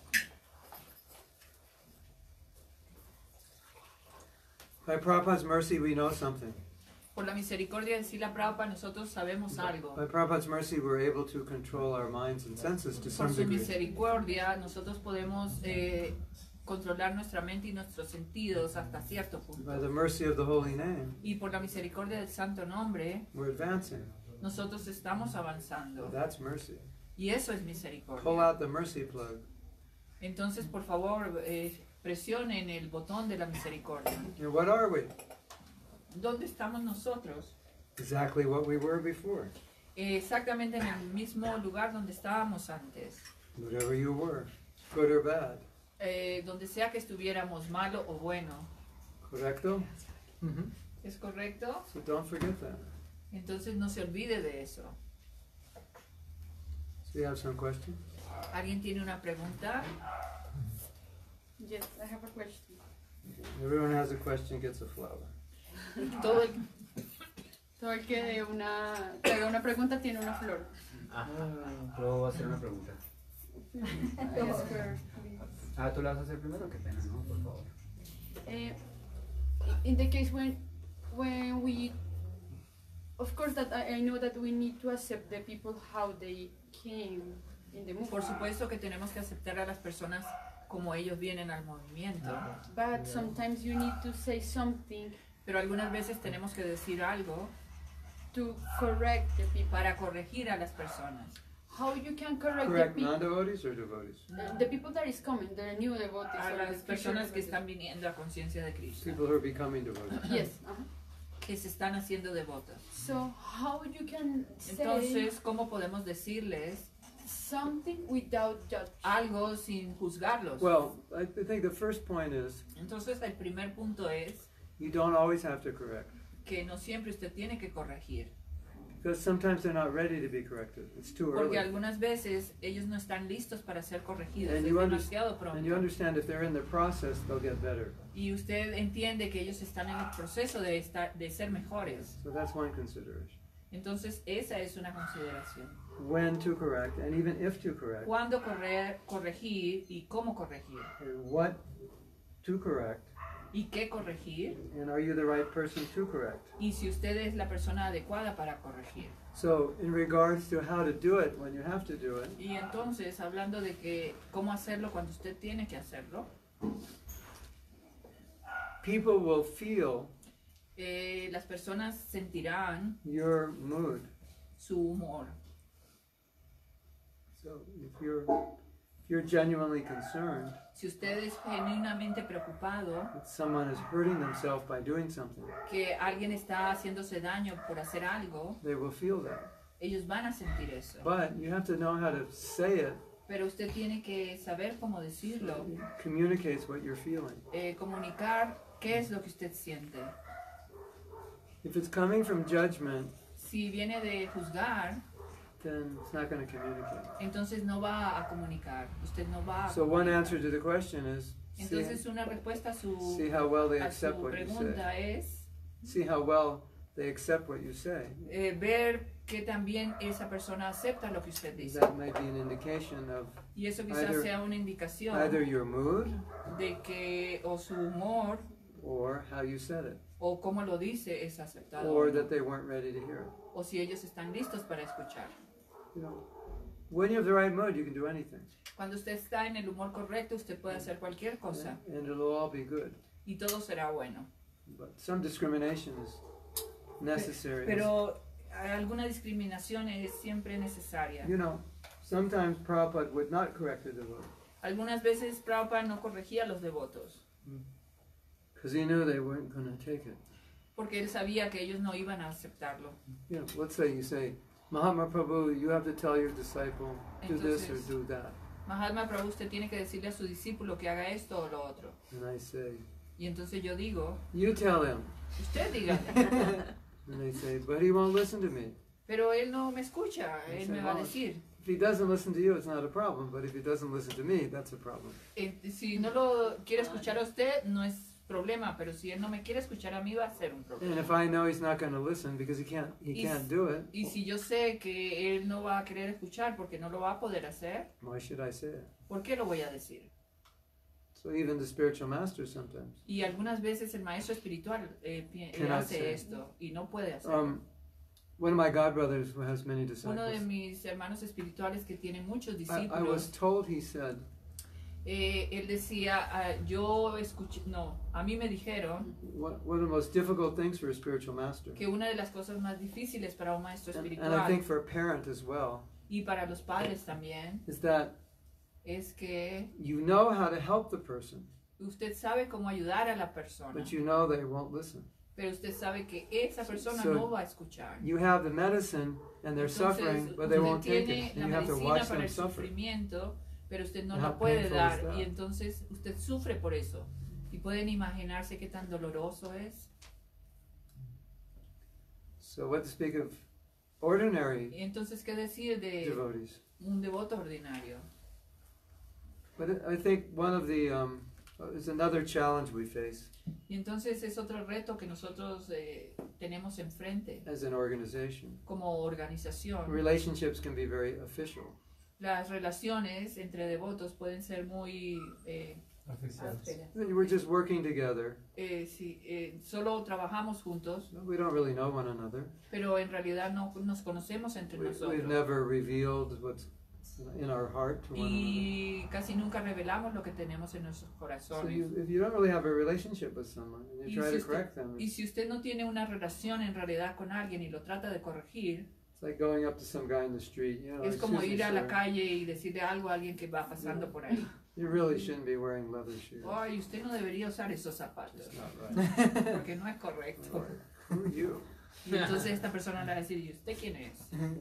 By Prabhupada's mercy, we know something. Por la misericordia de Srila Prabhupada nosotros sabemos algo. By Prabhupada's mercy, we're able to control our minds and senses to Por some su degree. misericordia nosotros podemos eh, controlar nuestra mente y nuestros sentidos hasta cierto By punto. the mercy of the holy name, Y por la misericordia del santo nombre, we're advancing. nosotros estamos avanzando. That's mercy. Y eso es Pull misericordia. out the mercy plug. Entonces, por favor, eh, presionen el botón de la misericordia. And what are we? ¿Dónde estamos nosotros? Exactly what we were before. Eh, exactamente en el mismo lugar donde estábamos antes. Whatever you were, good or bad. Eh, donde sea que estuviéramos, malo o bueno. Correcto? Mm-hmm. ¿Es correcto? So don't forget that. Entonces no se olvide de eso. So you have some questions? ¿Alguien tiene una pregunta? Yes, I have a question. Everyone has a question, gets a flower. Todo el, Todo el que dé una, que haga una pregunta tiene una flor. Ah, puedo hacer una pregunta. Yes, sir, please. Ah, tú la vas a hacer primero, qué pena, ¿no? Por favor. Eh, in the case when when we, of course that I, I know that we need to accept the people how they came in the movement. por supuesto que tenemos que aceptar a las personas como ellos vienen al movimiento, But sometimes you need to say something pero algunas veces tenemos que decir algo to correct the people. para corregir a las personas. How you can correct, Correct the people? non-devotees or devotees? Uh, the people that is coming, the new devotees. A or the las future personas que devotees. están viniendo a conciencia de Krishna, People who are becoming devotees. Yes. Uh-huh. que se están haciendo devotos. So how you can say Entonces, ¿cómo podemos decirles something without judge? algo sin juzgarlos? Well, I think the first point is Entonces, el primer punto es you don't always have to correct. que no siempre usted tiene que corregir. Because sometimes they're not ready to be corrected. It's too Porque early. algunas veces ellos no están listos para ser corregidos, And es you, under- demasiado and you pronto. understand if they're in the process, they'll get better. Y usted entiende que ellos están en el proceso de, estar, de ser mejores. So that's one consideration. Entonces esa es una consideración. When to correct, and even if to correct, ¿Cuándo correr, corregir y cómo corregir? and what to correct, ¿Y qué corregir? and are you the right person to correct? Y si usted es la persona adecuada para corregir. So, in regards to how to do it when you have to do it, Y entonces, hablando de que cómo hacerlo cuando usted tiene que hacerlo, people will feel eh, las personas sentirán your mood. su humor. So, if you're if you're genuinely concerned Si usted es genuinamente preocupado that someone is hurting themselves by doing something, que alguien está haciéndose daño por hacer algo, they will feel that. ellos van a sentir eso. But you have to know how to say it. Pero usted tiene que saber cómo decirlo, It communicates what you're feeling. eh, comunicar qué es lo que usted siente. If it's coming from judgment, Si viene de juzgar, then it's not going to communicate. entonces no va a comunicar. Usted no va a So one comunicar. answer to the question is see, Entonces una respuesta a su, see how well they a accept su what you say. pregunta es See how well they accept what you say. eh, ver que también esa persona acepta lo que usted dice. That might be an indication of Y eso quizás either- sea una indicación either your mood de que o su humor or how you said it, o cómo lo dice es aceptado o, or no. that they weren't ready to hear it. O si ellos están listos para escuchar. You know, when you have the right mood, you can do anything, Cuando usted está en el humor correcto, usted puede hacer cualquier cosa and it'll all be good. y todo será bueno. But some discrimination is necessary. Pero alguna discriminación es siempre necesaria. You know, sometimes Prabhupada would not correct the devotee Algunas veces Prabhupada no corregía a los devotos because he knew they weren't going to take it. porque él sabía que ellos no iban a aceptarlo. You know, let's say you say, Mahatma Prabhu, you have to tell your disciple, do this or Entonces- do that. Mahatma Prabhu, usted tiene que decirle a su discípulo que haga esto o lo otro. And I say, Y entonces yo digo, you tell him. usted diga. And they say, but he won't listen to me. Pero él no me escucha, él me va a decir. If he doesn't listen to you, it's not a problem. But if he doesn't listen to me, that's a problem. Eh, si no lo quiere escuchar a usted, no es problema, pero si él no me quiere escuchar a mí, va a ser un And problema. if I know he's not going to listen because he can't, he Is- can't do it, Y si yo sé que él no va a querer escuchar porque no lo va a poder hacer, why should I say it? ¿por qué lo voy a decir? So even the spiritual master sometimes. Y algunas veces el maestro espiritual eh, pi- eh, Cannot hace say. esto y no puede hacerlo. Um, one of my godbrothers who has many Uno de disciples, mis hermanos espirituales que tiene muchos I, I discípulos, was told, he said, eh, él decía, ah, yo escuché, no, a mí me dijeron one, one of the most difficult things for a spiritual master, que una de las cosas más difíciles para un maestro and, and I espiritual think for a parent as well, y para los padres también, is that es que you know how to help the person, usted sabe cómo ayudar a la persona, but you know they won't listen. pero usted sabe que esa persona So, no va a escuchar. You have the medicine and they're Entonces, suffering, but they usted won't take tiene it. la And you have to medicina watch para them el suffer. sufrimiento, pero usted no And la how puede painful dar is that? y entonces usted sufre por eso. Y pueden imaginarse qué tan doloroso es. So what to speak of ordinary Y entonces, ¿qué decir de devotees? un devoto ordinario? But I think one of the um, is another challenge we face Y entonces es otro reto que nosotros eh, tenemos enfrente as an organization. como organización. Relationships can be very official. Las relaciones entre devotos pueden ser muy... Eh, ásperas. We're just working together. Eh, sí, eh, solo trabajamos juntos, We don't really know one another. pero en realidad no nos conocemos entre We, we've nosotros. never revealed what's in our heart to one another. Y casi nunca revelamos lo que tenemos en nuestros So corazones. you, if you don't really have a relationship with someone and you Y try si to correct usted, them, y si usted no tiene una relación en realidad con alguien y lo trata de corregir, it's like going up to some guy in the street. You know, es como "Excuse me, ir a la sir, calle y decirle algo a alguien que va pasando por ahí. you really shouldn't be wearing leather shoes. Ay, usted no debería usar esos zapatos, It's not right. porque no es correcto. Or, who are you? Y entonces esta persona le va a decir, ¿y usted quién es?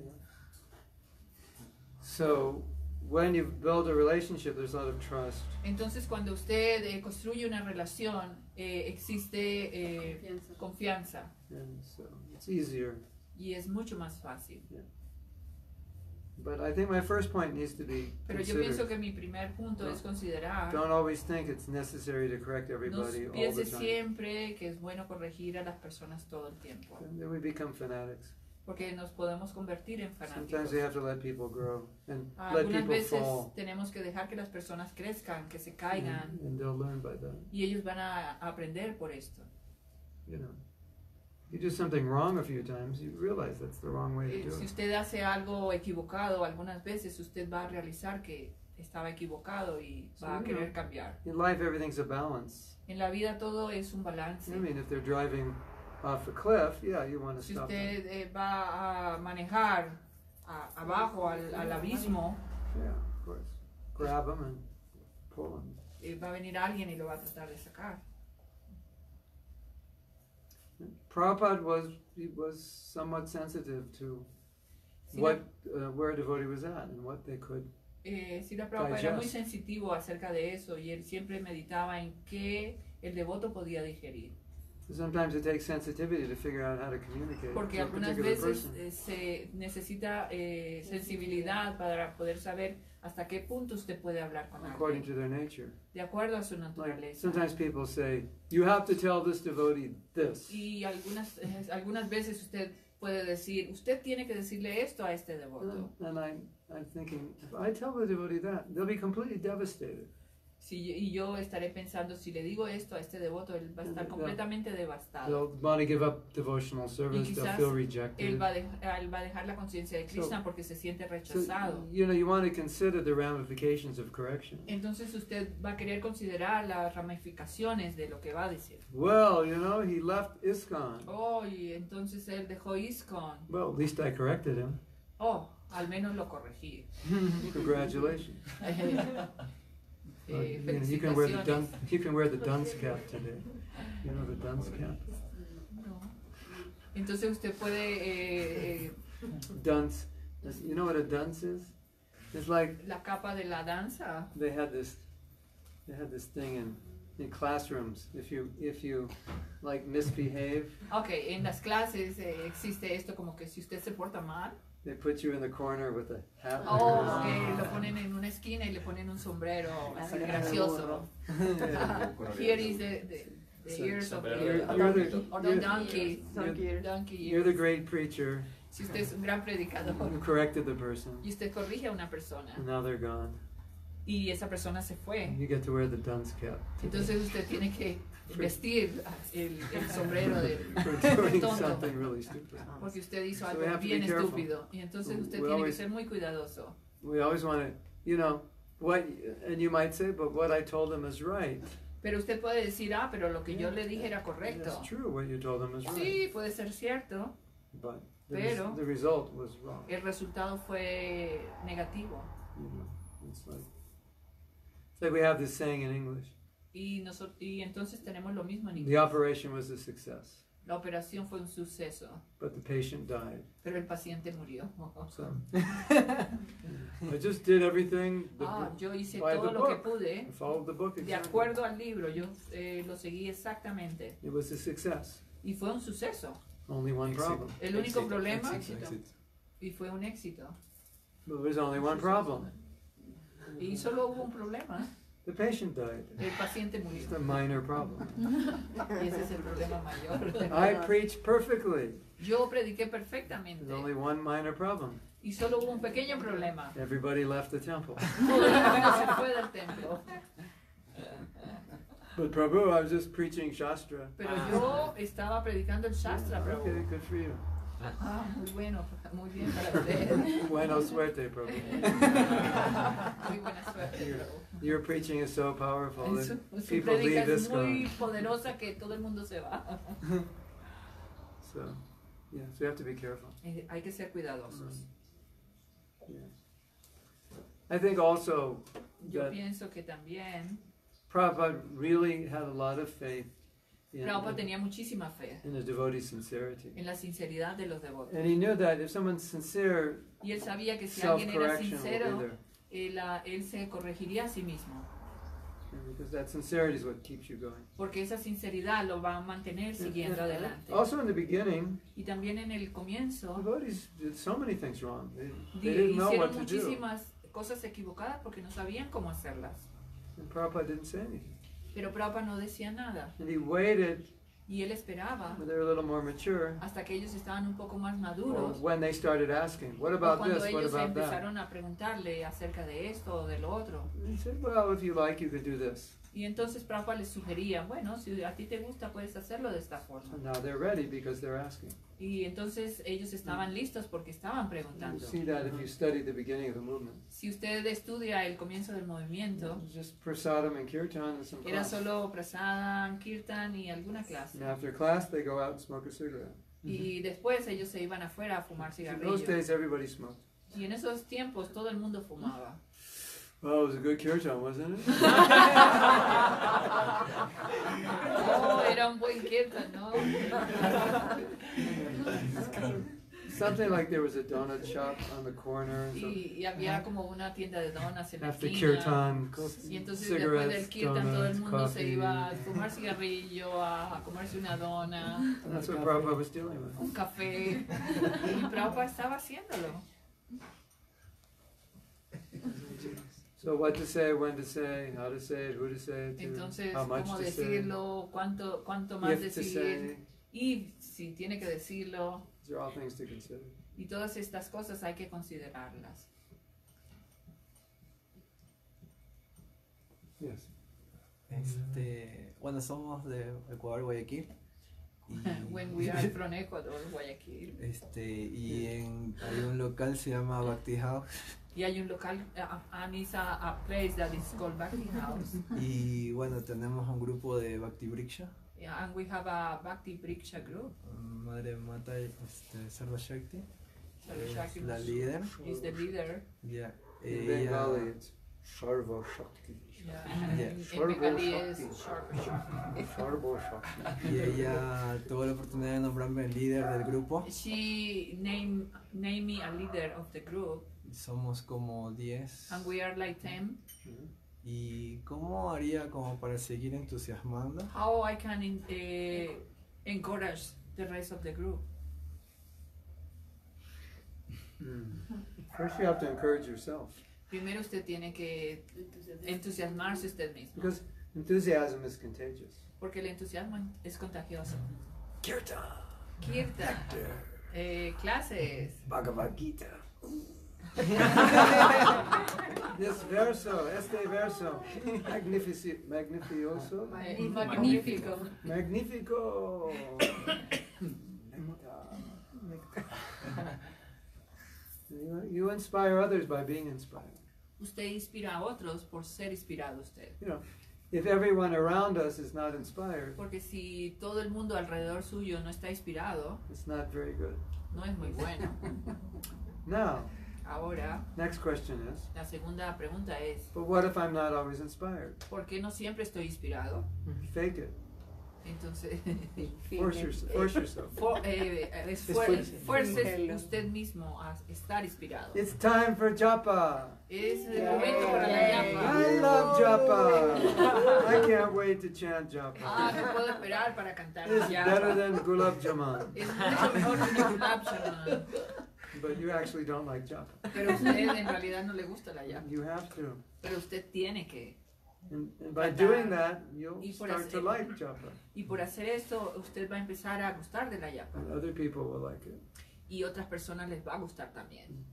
So when you build a relationship, there's a lot of trust. Entonces cuando usted eh, construye una relación, eh, existe eh, Confianza. confianza. And so it's easier y es mucho más fácil. But I think my first point needs to be Pero yo pienso considered. que mi primer punto No. es considerar, Don't always think it's necessary to correct no everybody all the piense time. siempre que es bueno corregir a las personas todo el tiempo, Then we become fanatics. porque nos podemos convertir en fanáticos. Sometimes we have to let people grow and let Algunas people veces fall, tenemos que dejar que las personas crezcan, que se caigan, and, and they'll learn by that. y ellos van a aprender por esto. You know, you do something wrong a few times, you realize that's the wrong way Eh, to do si it. usted hace algo equivocado algunas veces, usted va a realizar que estaba equivocado y va a Sí, querer ¿no? cambiar. In life, everything's a balance. En la vida todo es un balance. I mean, if they're driving off a cliff, yeah, you want to Si stop them. usted eh, va a manejar a- abajo al, al abismo, Yeah, of course. Grab them and pull them. eh, va a venir alguien y lo va a tratar de sacar. Prabhupada was he was somewhat sensitive to Sí, what uh, where a devotee was at and what they could. Eh, Srila Prabhupada era muy Digest. sensitivo acerca de eso y él siempre meditaba en qué el devoto podía digerir. Sometimes it takes sensitivity to figure out how to communicate Porque to a algunas particular veces person. eh, se necesita eh, sensibilidad para poder saber hasta qué punto usted puede hablar con According alguien, to their nature. de acuerdo a su Like naturaleza. sometimes people say, you have to tell this devotee this. Y algunas, eh, algunas veces usted puede decir, usted tiene que decirle esto a este devoto. And, and I'm, I'm thinking, if I tell the devotee that, they'll be completely devastated. Si, y yo estaré pensando, si le digo esto a este devoto, él va a estar Yeah. completamente devastado. They'll want to give up devotional service, they'll quizás feel rejected. Él va, a de- él va a dejar la conciencia de Krishna porque se siente So, rechazado. you know, you want to consider the ramifications of correction. Entonces usted va a querer considerar las ramificaciones de lo que va a decir. Well, you know, he left ISKCON. Oh, y entonces él dejó ISKCON. Well, at least I corrected him. Oh, al menos lo corregí. Congratulations. Well, Eh, you, know, you can wear the felicitaciones. dunce, you can wear the dunce cap today. You know the dunce cap. No. Entonces usted puede, eh, eh, Dunce. You know what a dunce is? It's like la capa de la danza. they had this, they had this thing in, in classrooms. If you if you like misbehave, Ok, en las clases eh, existe esto como que si usted se porta mal, they put you in the corner with a hat. like oh, this. que lo ponen en una esquina y le ponen un sombrero así gracioso. Yeah. Here is the, the, the So- ears of sombrero the, You're, de- you're the, or the you're, donkey, you're, donkey you're the ears. great preacher Si usted es un gran predicador who corrected the person, y usted corrige a una persona and now they're gone. y esa persona se fue, You get to wear the dunce cap entonces usted tiene que vestir el, el sombrero de for doing tonto. something really stupid. porque usted hizo So we algo have to bien be careful. estúpido y entonces usted We tiene que always- ser muy cuidadoso. We always want to, you know, what, and you might say, but what I told them is right. Pero usted puede decir, ah, pero lo que yo le dije era correcto. It's true, what you told them is right. Sí, puede ser cierto, But the, res- Pero- the result was wrong. el resultado fue negativo. You know, it's like, it's like we have this saying in English: Y, noso- y entonces tenemos lo mismo en the inglés. operation was a success, La operación fue un suceso, but the patient died. pero el paciente murió. So I just did everything. The, Ah, yo hice by todo the lo que book. pude I followed the book de exactly. acuerdo al libro, yo eh, lo seguí exactamente. It was a success. Y fue un suceso. Only one problem. El único Éxito, problema, éxito. y fue un éxito. But there was only one problem. Y solo hubo un problema, The patient died. el paciente murió. It's a minor problem. Y ese es el problema mayor. I preached perfectly. Yo prediqué perfectamente There's only one minor problem. y solo hubo un pequeño problema. Everybody left the temple. Todo el mundo se fue del templo. But Prabhu, I was just preaching Shastra. Pero yo estaba predicando el Shastra, Okay, Prabhu. good for you. Ah, muy bueno, muy bien para usted. Buena suerte, Prabhu. Muy buena suerte, Your, Prabhu. your preaching is so powerful Su, that su people predica leave es this muy gone. poderosa que todo el mundo se va. So, yeah, so you have to be careful. Eh, Hay que ser cuidadosos. Yeah. I think also Yo that pienso que también Prabhupada really had a lot of faith in, Prabhupada tenía muchísima fe in the devotee's sincerity. en la sinceridad de los devotos. And he knew that if someone's sincere, Y él sabía que si alguien era self-correction will be sincero, there. él, ah, él se corregiría a sí mismo. Because that sincerity is what keeps you going. porque esa sinceridad lo va a mantener siguiendo adelante. Also in the beginning, Y también en el the comienzo devotees did so many things wrong. They, di- they didn't know what hicieron to do. muchísimas cosas equivocadas porque no sabían cómo hacerlas. And Prabhupada didn't say anything. Pero Prabhupada no decía nada And he waited y él esperaba when they were a little more mature, hasta que ellos estaban un poco más or maduros when they started asking, what o about cuando this, what ellos about that? empezaron a preguntarle acerca de esto o de lo otro. He said, well, if you like, you could do this. Y entonces Prabhupada les sugería, bueno, si a ti te gusta puedes hacerlo de esta forma. And now they're ready because they're asking. Y entonces ellos estaban listos porque estaban You preguntando. see that if you study the beginning of the movement. Si usted estudia el comienzo del movimiento, It's just prasadam and kirtan and some era class. solo prasadam, kirtan y alguna clase. And after class, they go out and smoke a cigarette. Y después ellos se iban afuera a fumar In those cigarrillos. days, everybody smoked. Y en esos tiempos todo el mundo fumaba. Well, it was a good kirtan, wasn't it? Oh, era un buen kirtan, ¿no? Something like there was a donut shop on the corner. And so Y, y había como una tienda de donas en la after esquina. kirtan, Y entonces después del cigarettes, kirtan todo el donuts, mundo se coffee. iba a fumar cigarrillo, a, a comerse una dona, And that's what Prabhupada was dealing with. un café. Y Prabhupada estaba haciéndolo. So what to say, when to say, how to say it, who to say it to, Entonces, how much cómo to say, decirlo, cuánto, cuánto más if to decir, say. y si tiene que decirlo. These are all things to consider. Y todas estas cosas hay que considerarlas. Yes. Este, bueno, somos de Ecuador, Guayaquil. Y, When we are from Ecuador, Guayaquil. este, y en, hay un local se llama Bhakti House. Y hay un local, uh, and it's a, a place that is called Bhakti House. Y bueno, tenemos un grupo de Bhakti Briksha. Yeah, and we have a Bhakti Briksha group. Madre Mata este, Sarva Shakti. Sarva Es Shakti la líder. is the leader. Ya. In Ella, Bengali, it's Sarva Shakti. Yeah. Yeah. En, en Sarva Bengali es Shakti. Sarva Shakti. Sarva Shakti. y ella tuvo la oportunidad de nombrarme líder del grupo. She named named me a leader of the group, Somos como diez. and we are like ten. ¿Y cómo haría como para seguir entusiasmando? How I can in, eh, encourage the rest of the group? Mm. First, you have to encourage yourself Primero usted tiene que entusiasmarse usted mismo, because enthusiasm is contagious. porque el entusiasmo es contagioso. Kirtan, Kirtan, eh, clases, Bhagavad Gita. This verso, este verso, magnifici magnificioso, eh, magnífico. magnifico. Nectar, nectar. You, you inspire others by being inspired. Usted inspira a otros por ser inspirado usted. You know, if everyone around us is not inspired, Porque si todo el mundo alrededor suyo no está inspirado, it's not very good. no es muy bueno. Now, Ahora, next question is, la segunda pregunta es, but what if I'm not always inspired? ¿por qué no siempre estoy inspirado? Fake it. Entonces, Force, yourself, force yourself. for- eh, esfuer- fuerce usted mismo a estar inspirado. It's time for japa. Es el momento para la llama. I love japa. I can't wait to chant japa. Ah, no puedo esperar para cantar It's la better llama. than gulab jamun. Es mucho mejor que un gulab jamun. But you actually don't like japa. Pero a usted en realidad no le gusta la llama. You have to. Pero usted tiene que. And, and by doing that, you'll Y por start to hacer- like japa. Y por hacer esto, usted va a empezar a gustar de la llama. And other people will like it. Y otras personas les va a gustar también.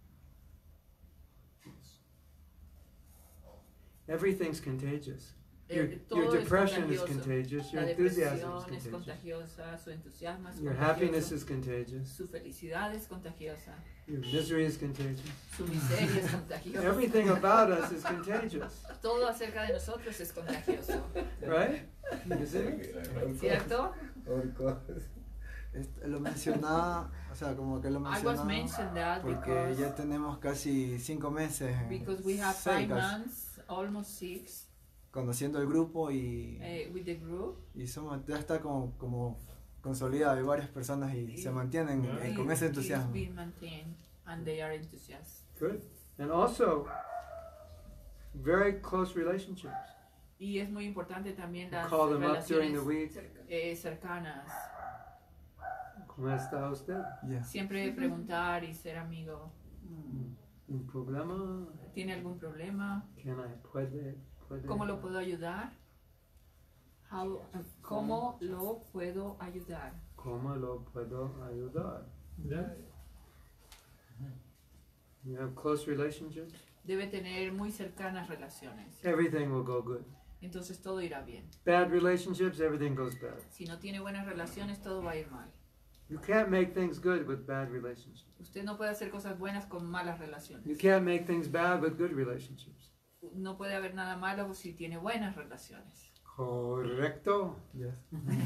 Everything's contagious. Eh, Your, todo your es depression is contagioso. contagious. Your La enthusiasm is depresión es contagious. contagiosa, su entusiasmo es Your happiness contagioso, is contagious. su felicidad es contagiosa, Your misery is contagious. su miseria es contagiosa. Everything about us is contagious. Todo acerca de nosotros es contagioso, Right? You see? ¿cierto? Este, lo mencionaba, o sea, como que lo I was mencionaba mentioned that porque because, ya tenemos casi cinco meses en- because we have five cerca, months, almost six, conociendo el grupo y, eh, with the group. y somos, ya está como, como consolidado, hay varias personas y se mantienen eh, It- con ese it's entusiasmo. been maintained and they are enthusiastic. Good. And also, very close relationships. Y es muy importante también las Call them up during the relaciones week. eh, cercanas. ¿Cómo está usted? Yeah. Siempre preguntar y ser amigo. ¿Un problema? ¿Tiene algún problema? Can I puede, puede? ¿Cómo lo puedo ayudar? How- ¿Cómo lo puedo ayudar? ¿Cómo lo puedo ayudar? Yeah. You have close relationships? Debe tener muy cercanas relaciones. Everything will go good. Entonces todo irá bien. Bad relationships, everything goes bad. Si no tiene buenas relaciones, todo va a ir mal. You can't make things good with bad relationships. Usted no puede hacer cosas buenas con malas You relaciones. can't make things bad with good relationships. No puede haber nada malo si tiene buenas relaciones. Correcto. Yes.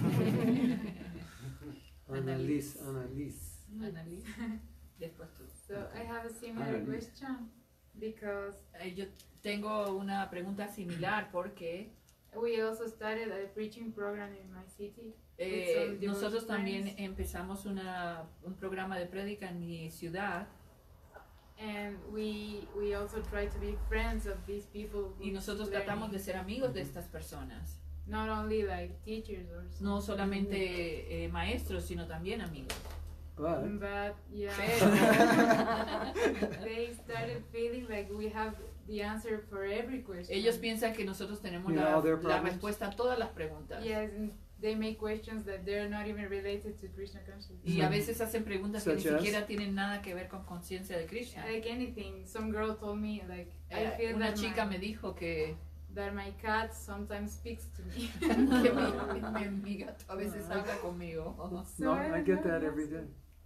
Annalise, Annalise. Annalise, después tú. So I have a similar Annalise. question because Eh, Yo tengo una pregunta similar porque we also started a preaching program in my city. eh, With some nosotros devout también friends. empezamos una, un programa de prédica en mi ciudad And we we also try to be friends of these people. y who's nosotros learning. tratamos de ser amigos de estas personas. Not only like teachers or something. No solamente eh, maestros, sino también amigos. But But yeah, Pero they started feeling like we have the answer for every question. ellos piensan que nosotros tenemos You know la, all their la problems? respuesta a todas las preguntas. Yes, and they make questions that they're not even related to Krishna consciousness. Y a veces hacen preguntas que ni Such as? siquiera tienen nada que ver con conciencia de Krishna. Like anything, some girl told me like I Eh, feel una that chica my, me dijo que, that my cat sometimes speaks to me. que mi, mi, mi gato a veces habla conmigo. So no, I I don't get know, that yes. every day.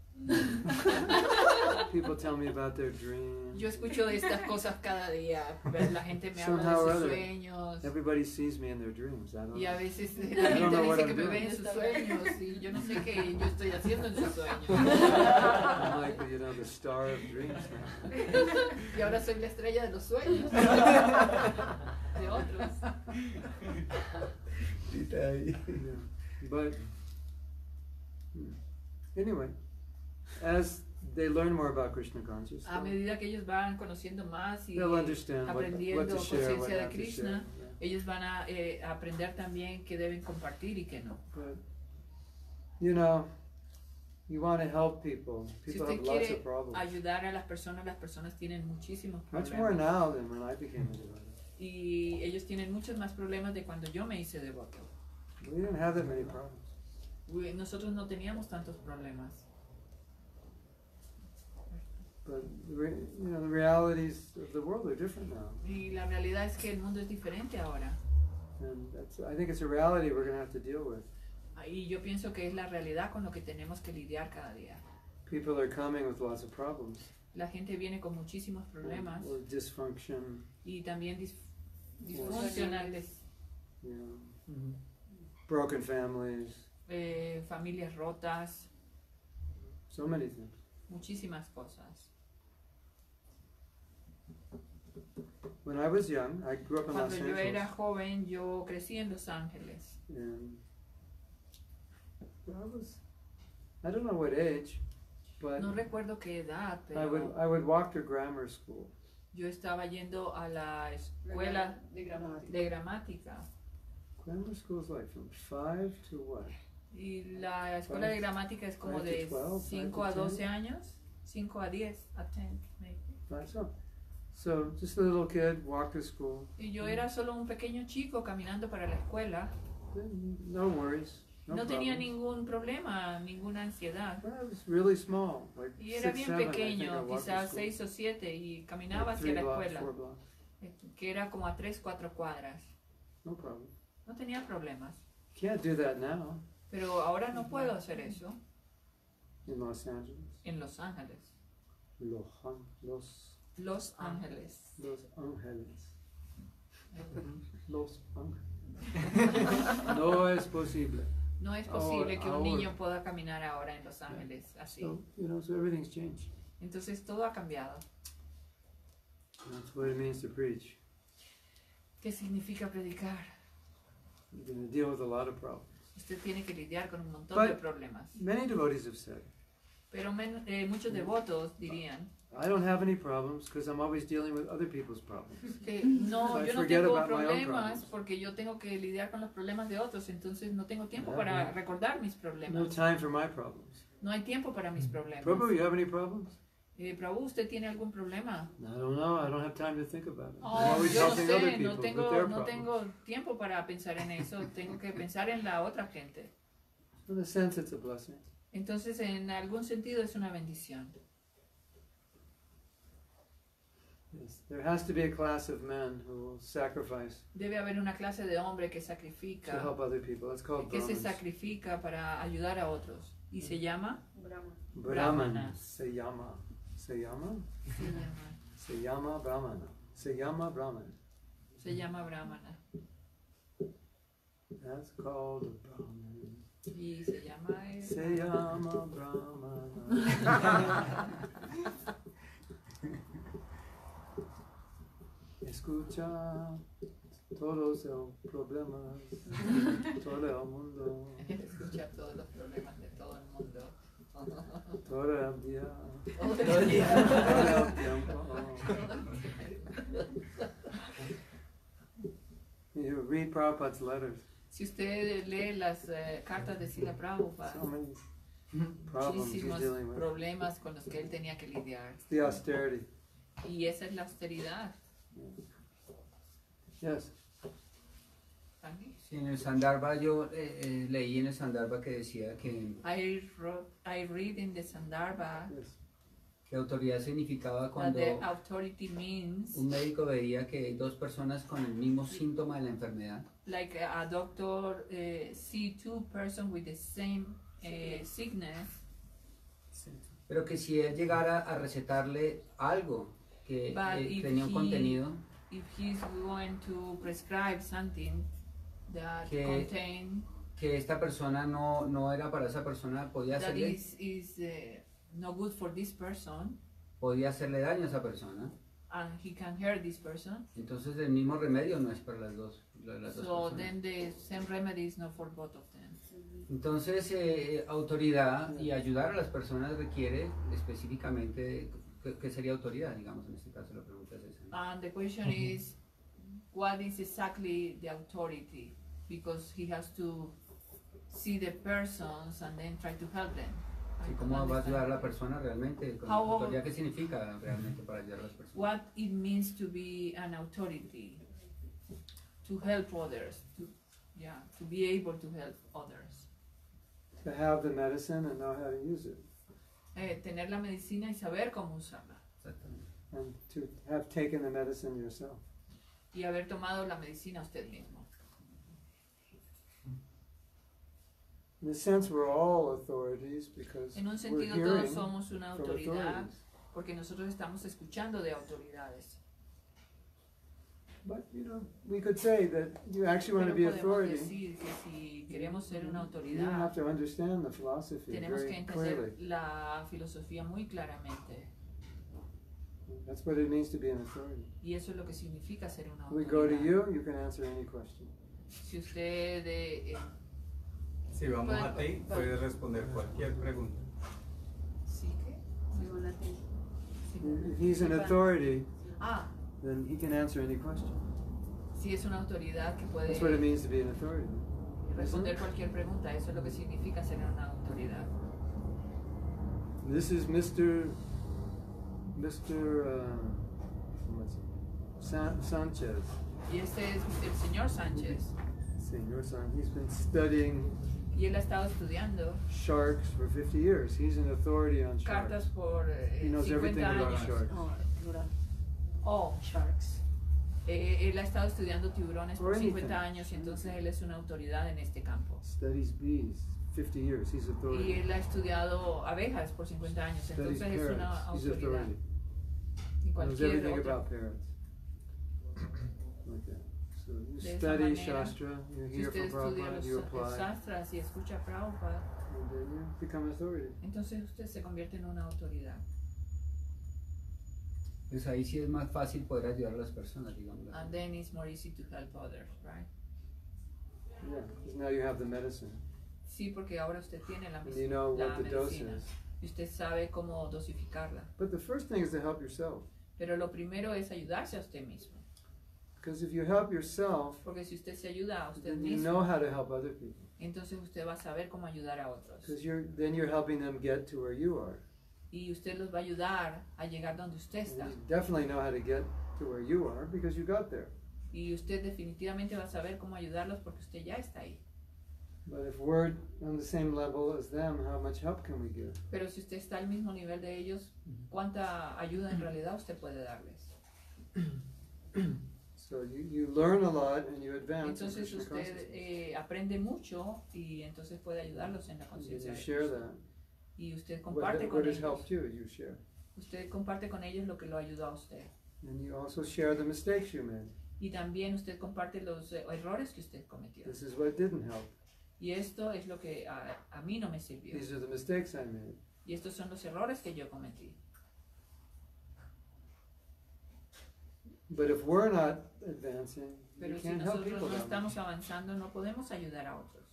People tell me about their dreams. Yo escucho de estas cosas cada día. La gente me habla Somehow or de sus other. sueños. Everybody sees me in their dreams. I don't Y a know. veces I la don't gente know what dice I'm que me doing. ve en sus sueños y yo no sé qué yo estoy haciendo en sus sueños. I'm like, you know, the star of dreams now. Y ahora soy la estrella de los sueños. De otros. Yeah. But hmm. anyway, as they learn more about Krishna consciousness, A medida que ellos van conociendo más y they'll understand what, what aprendiendo to share, what conciencia de not to share. Krishna, Yeah. ellos van a eh, aprender también qué deben compartir y qué no. But you know, you want to help people. Si People usted have lots quiere of problems. ayudar a las personas, las personas tienen muchísimos Much more problemas. now than when I became a devotee. Y ellos tienen muchos más problemas de cuando yo me hice devoto. We didn't have that many problems. We- Nosotros no teníamos tantos problemas. But the re- you know, the realities of the world are different now, Y la realidad es que el mundo es diferente ahora. and that's, I think it's a reality we're going to have to deal with. Y yo pienso que es la realidad con lo que tenemos que lidiar cada día. People are coming with lots of problems, La gente viene con muchísimos problemas or, or dysfunction, y también dis- disfuncionales, you know, broken families, eh, familias rotas, so many things. muchísimas cosas. When I was young, I grew up in Los Cuando yo era Angeles, joven, yo crecí en Los Ángeles. and I was, I don't know what age, but No recuerdo qué edad, I would pero I would walk to grammar school. yo estaba yendo a la escuela de gramática. de gramática. Grammar school is like from five to what? Y la escuela de gramática es como Five to de twelve, cinco five a to doce ten. años, cinco a diez, a ten, maybe. Five so. So just a little kid, walk to school. Y yo era solo un pequeño chico caminando para la escuela. No worries. No, No tenía problems. ningún problema, ninguna ansiedad. Well, I was really small, like Y era six, bien seven, I think I pequeño, walked to quizás school. seis o siete, y caminaba Like hacia three la blocks, escuela, four blocks. eh, que era como a tres, cuatro cuadras. No problem. No tenía problemas. Can't do that now Pero ahora no puedo hacer eso in Los Angeles. en Los Ángeles. Los, An- Los, Los Ángeles. Los Ángeles. Los Ángeles. No es posible. No es posible que un Ahora- niño pueda caminar ahora en Los Ángeles así. So, you know, so everything's changed. Entonces todo ha cambiado. That's what it means to preach. ¿Qué significa predicar? You're going to deal with a lot of problems. Usted tiene que lidiar con un montón But- de problemas. Many devotees have said Pero men, eh, muchos devotos dirían I don't have any problems because I'm always dealing with other people's problems. que no, I yo no forget tengo about my own problemas problems. porque yo tengo que lidiar con los problemas de otros, entonces no tengo tiempo Yeah, para yeah. recordar mis No problemas. time for my problems. No hay tiempo para mis problemas. Prabhu, you have any problems? Eh, Prabhu, ¿usted tiene algún problema? I don't know. I don't have time to think about it. I'm Oh, always yo no helping other sé, people no with tengo, their no problems. tengo tiempo para pensar en eso, tengo que pensar en la otra gente. In a sense, it's a blessing. Entonces, en algún sentido es una bendición. Yes. There has to be a class of men who will sacrifice Debe haber una clase de hombre que to sacrifica, help other people. That's called que se Brahmins. sacrifica para ayudar a otros. Y se llama, Brahman. Se llama. Se llama. se llama, Se llama Brahmana. Se llama Brahman. se llama Brahmana. That's called a Brahman. Y se llama, eh, Se llama Brahmana. Escucha todos los problemas, todo el mundo, escucha todos los problemas de todo el mundo. todo el día, Todo el día. todo el tiempo. You read Prabhupada's letters. Si usted lee las eh, cartas de Srila Prabhupada, So many problems he's muchísimos dealing with. problemas con los que él tenía que lidiar. It's the austerity. Y esa es la austeridad. Yes. ¿También? Sí, en el Sandarbha yo eh, eh, leí en el Sandarbha que decía que, I, wrote, I read in the Sandarbha Yes. que autoridad significaba that cuando the authority means un médico veía que hay dos personas con el mismo síntoma de la enfermedad, like a doctor uh, see two person with the same uh, sickness, pero que si él llegara a recetarle algo que But eh, if tenía un he- contenido if he's going to prescribe something that Que- contain que esta persona no, no era para esa persona, podía that hacerle, is is uh, no good for this person podía hacerle daño a esa persona. and he can hurt this person, Entonces el mismo remedio no es para las dos, la- las dos so personas. then the same remedy is not for both of them. Entonces eh, autoridad y ayudar a las personas requiere específicamente, ¿qué, qué sería autoridad? Digamos, en este caso la pregunta es esa, ¿no? And the question is, what is exactly the authority? Because he has to see the persons and then try to help them. I ¿Y don't cómo va a ayudar a la understand. persona realmente? ¿Con How- autoridad qué significa realmente para ayudar a las personas? What it means to be an authority, to help others, to yeah, to be able to help others. To have the medicine and know how to use it. Eh, tener la medicina y saber cómo usarla. Exactamente. And to have taken the medicine yourself. Y haber tomado la medicina usted mismo. In a sense, we're all authorities because En un we're sentido hearing todos somos una from autoridad authorities. porque nosotros estamos escuchando de autoridades. But, you know, we could say that you actually want to Pero be podemos authority. decir que si queremos ser una You have autoridad, to understand the philosophy tenemos que very entender clearly. la filosofía muy claramente. That's what it means to be an authority. Y eso es lo que significa ser una We go to autoridad. you, you can answer any question. Si usted eh, eh, Si vamos a Puede- ti, puedes responder cualquier pregunta. sí que Según la te- If he's an authority, ah, then he can answer any question. si es una autoridad que puede That's what it means to be an authority. responder cualquier pregunta, eso es lo que significa ser una autoridad. This is Mister Mister Uh, what's it? San- Sanchez. Y este es el señor Sánchez. Senior son. He's been studying Y él ha estado estudiando sharks for fifty years. He's an authority on cartas sharks. por eh, He knows everything cincuenta about años. sharks. Oh, dura. Oh, Sharks. eh, él ha estado estudiando tiburones por Or anything. cincuenta años y entonces él es una autoridad en este campo. Studies bees. Fifty years. He's Y authority. él ha estudiado abejas por cincuenta años, Studies entonces es una parrots. He's autoridad. authority. Y Knows cualquier everything otra. about parrots. Like that. So you De esa study manera, Shastra. You Si hear usted from estudia Prabhupada. los You los apply. sastras y escucha a Prabhupada, And then you become authority. entonces usted se convierte en una autoridad. Pues ahí sí es más fácil poder ayudar a las personas, digamos. And then it's more easy to help others, right? Yeah. Because now you have the medicine. Sí, porque ahora usted tiene la, And medicina, you know la what the dose medicina is. y usted sabe cómo dosificarla. But the first thing is to help yourself. Pero lo primero es ayudarse a usted mismo. Because if you help yourself, Porque si usted se ayuda a usted then you mismo, know how to help other people. entonces usted va a saber cómo ayudar a otros. Because you're then you're helping them get to where you are. Y usted los va a ayudar a llegar donde usted está. And you definitely know how to get to where you are because you got there. Y usted definitivamente va a saber cómo ayudarlos porque usted ya está ahí. But if we're on the same level as them, how much help can we give? Pero si usted está al mismo nivel de ellos, ¿cuánta ayuda en realidad usted puede darles? So you, you learn a lot and you advance in Entonces Krishna usted consciousness. eh, aprende mucho y entonces puede ayudarlos en la And conciencia you de share ellos. that. Y usted What, comparte what con has ellos. helped you, you share. Usted comparte con ellos lo que lo ayudó a usted. And you also share the mistakes you made. Y también usted comparte los eh, errores que usted cometió. This is what didn't help. Y esto es lo que a, a mí no me sirvió. These are the mistakes I made. Y estos son los errores que yo cometí. But if we're not advancing, Pero you si can't help nosotros people no that estamos much. avanzando, no podemos ayudar a otros.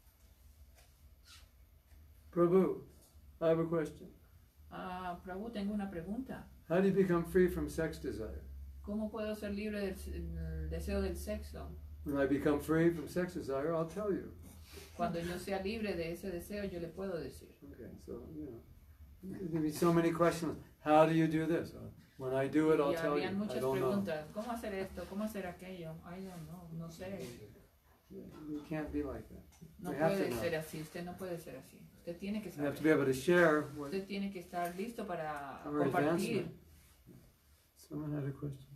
Prabhu, I have a question. Ah, Prabhu, tengo una pregunta. How do you become free from sex desire? ¿Cómo puedo ser libre del del deseo del sexo? When I become free from sex desire, I'll tell you. Cuando yo sea libre de ese deseo, yo le puedo decir. Okay, so, you know, there be so many questions. How do you do this? Uh, when I do it, I'll Y tell you. habían I muchas don't know. preguntas. ¿Cómo hacer esto? ¿Cómo hacer aquello? I don't know, no sé. You can't be like that. No We have to puede know. ser así. Usted no puede ser así. Usted tiene que You have to be saber. able to share what Usted tiene que estar listo para our compartir. advancement. Someone had a question.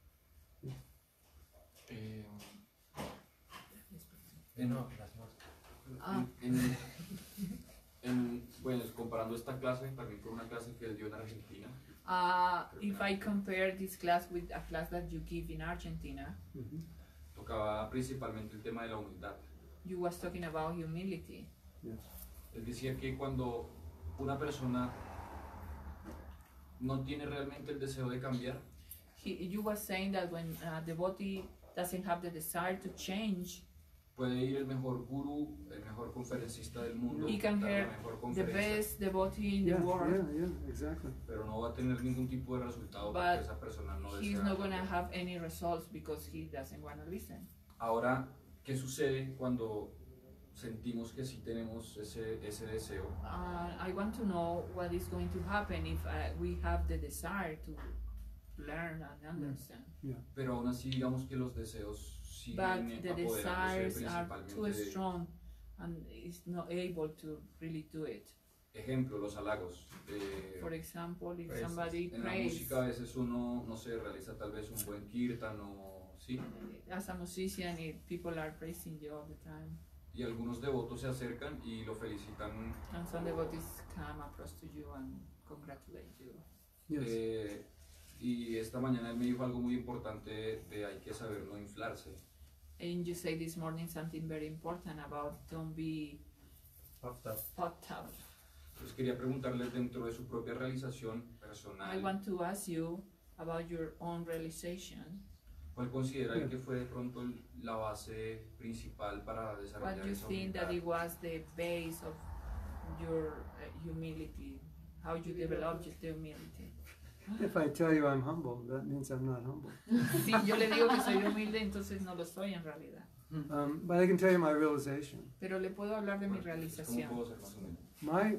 Eh, eh, no, gracias. Ah. En, en, bueno, comparando esta clase también con una clase que él dio en Argentina, Uh, if I compare this class with a class that you give in Argentina, Mhm. tocaba principalmente el tema de la humildad. you was talking about humility. Yes. Es decir, que cuando una persona no tiene realmente el deseo de cambiar, He, you was saying that when a devotee doesn't have the desire to change, puede ir el mejor gurú, el mejor conferencista del mundo, he can dar hear la mejor the conferencia, best devotee in the Yeah, world, yeah, yeah, exactly. pero no va a tener ningún tipo de resultado But porque esa persona no he's desea not going to cambiar. have any results because he doesn't want to listen. Ahora, ¿qué sucede cuando sentimos que sí tenemos ese, ese deseo? Uh, I want to know what is going to happen if uh, we have the desire to learn and understand. Pero aún así digamos que los deseos siguen But the apoderándose desires are too principalmente de, strong and is not able to really do it. ejemplo, los halagos. Eh, For example, if Praises. somebody en la prays, música a veces uno, no sé, realiza tal vez un buen kirtan o sí, as a musician, if people are praising you all the time, y algunos devotos se acercan y lo felicitan. and some devotees come across to you and congratulate you. Yes. eh, y esta mañana él me dijo algo muy importante de hay que saber no inflarse. And you say this morning something very important about don't be Puffed up. puffed up. Entonces quería preguntarle dentro de su propia realización personal, I want to ask you about your own realization. ¿cuál considera él que fue de pronto el- la base principal para What desarrollar do you esa think that humildad? it was the base of your uh, humility? How you developed the humility? If I tell you I'm humble, that means I'm not humble. Si yo le digo que soy humilde, entonces no lo soy en realidad. Um, but I can tell you my realization. Pero le puedo hablar de mi ¿Cómo realización. puedo ser más humilde? My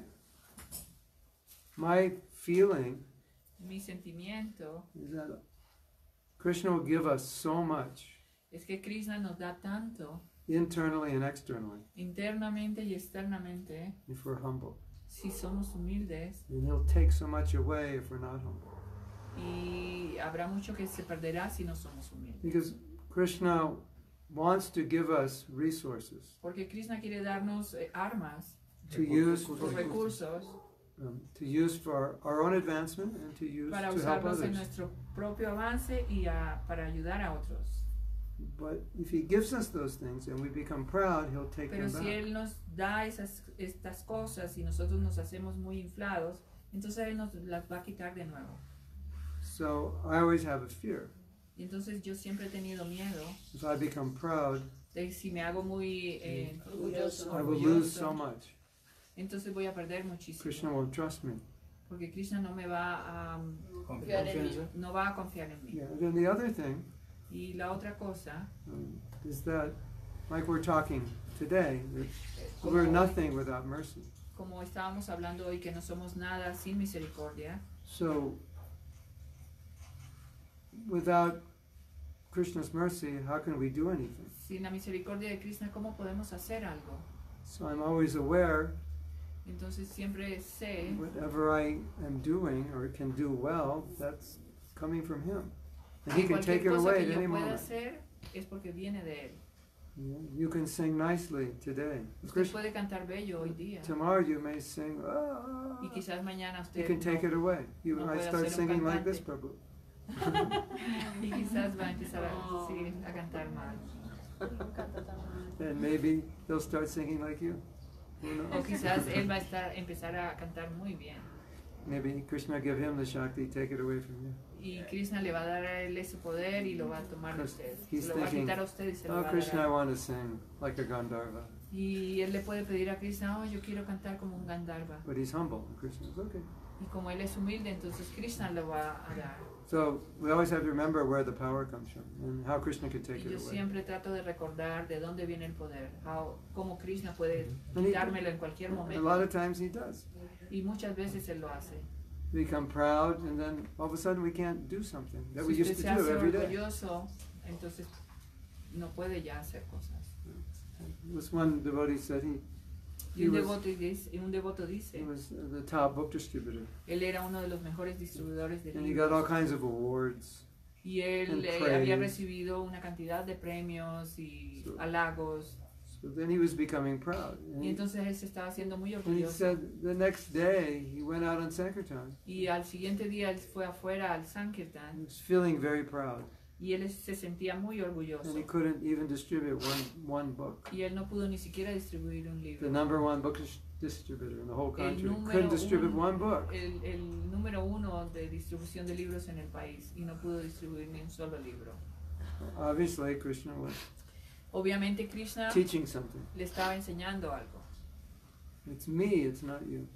my feeling Mi sentimiento is that Krishna will give us so much es que Krishna nos da tanto internally and externally internamente y externamente if we're humble. si somos humildes, And he'll take so much away if we're not humble. y habrá mucho que se perderá si no somos humildes. Because Krishna wants to give us resources Porque Krishna quiere darnos eh, armas, to use los recursos, um, to use for our own advancement and to use para to help usarlos en others. nuestro propio avance y a- para ayudar a otros. But if he gives us those things and we become proud, he'll take Pero them si back. Él nos da esas, estas cosas y nosotros nos hacemos muy inflados, entonces Él nos las va a quitar de nuevo. So I always have a fear. Y entonces yo siempre he tenido miedo If I become proud, de si me hago muy eh, orgulloso, I will lose orgulloso, so much. entonces voy a perder muchísimo. Krishna won't trust me. Porque Krishna no me va a, um, Confiar en mí. no va a confiar en mí. Yeah. And then the other thing Y la otra cosa, um, is that, like we're talking today, that como, we're nothing without mercy. como estábamos hablando hoy, que no somos nada sin misericordia. So, without Krishna's mercy, how can we do anything? Sin la misericordia de Krishna, ¿cómo podemos hacer algo? So I'm always aware Entonces siempre sé, whatever I am doing or can do well, that's coming from Him. And He que can take cualquier it cosa away que at yo any pueda moment. hacer es porque viene de Él. Yeah, you can sing nicely today. Usted Krishna, puede cantar bello hoy día. tomorrow you may sing, ah, Y quizás mañana He usted can take no, it away. You no might puede start ser un singing like this, cantante. Prabhu. y quizás va a empezar a, sí, a cantar mal. And maybe they'll start singing like you. Who O knows? quizás él va a estar, empezar a cantar muy bien. Maybe Krishna give him the Shakti, take it away from you. Y Krishna le va a dar a él ese poder y lo va a tomar de usted. He's Se lo va a thinking, quitar a usted y se lo oh va a Krishna, I dar a want to sing like a Gandharva. Y él le puede pedir a Krishna, oh, yo quiero cantar como un Gandharva. But he's humble. And Krishna's okay. Y como él es humilde, entonces Krishna lo va a dar. So we always have to remember where the power comes from and how Krishna can take Y yo it away. siempre trato de recordar de dónde viene el poder, how, cómo Krishna puede And he- quitármelo en cualquier A lot momento. of times he does. Y muchas veces él lo hace. We become proud and then all of a sudden we can't do something that we Si usted used se to do hace every day. orgulloso, entonces no puede ya hacer cosas. This one devotee said he, Y he un was, devoto, dice, y un devoto he dice, was the top book distributor él era uno de los mejores distribuidores de and he got all libros. kinds of awards. Y él and eh, praise. había recibido una cantidad de premios y So- halagos. So then he was becoming proud. And Y he, entonces él se estaba haciendo muy and he orgulloso. said the next day he went out on Sankirtan. Y al siguiente día él fue afuera al He Sankirtan was feeling very proud y él se sentía muy orgulloso. and he couldn't even distribute one, one book. Y él no pudo ni siquiera distribuir un The libro. number one book dis- distributor in the whole El country número couldn't distribute uno- one book. El, el número uno de distribución de libros en el país y no pudo distribuir ni un solo libro. Obviously, Krishna was Obviamente Krishna teaching something. le estaba enseñando algo. It's me, it's not you.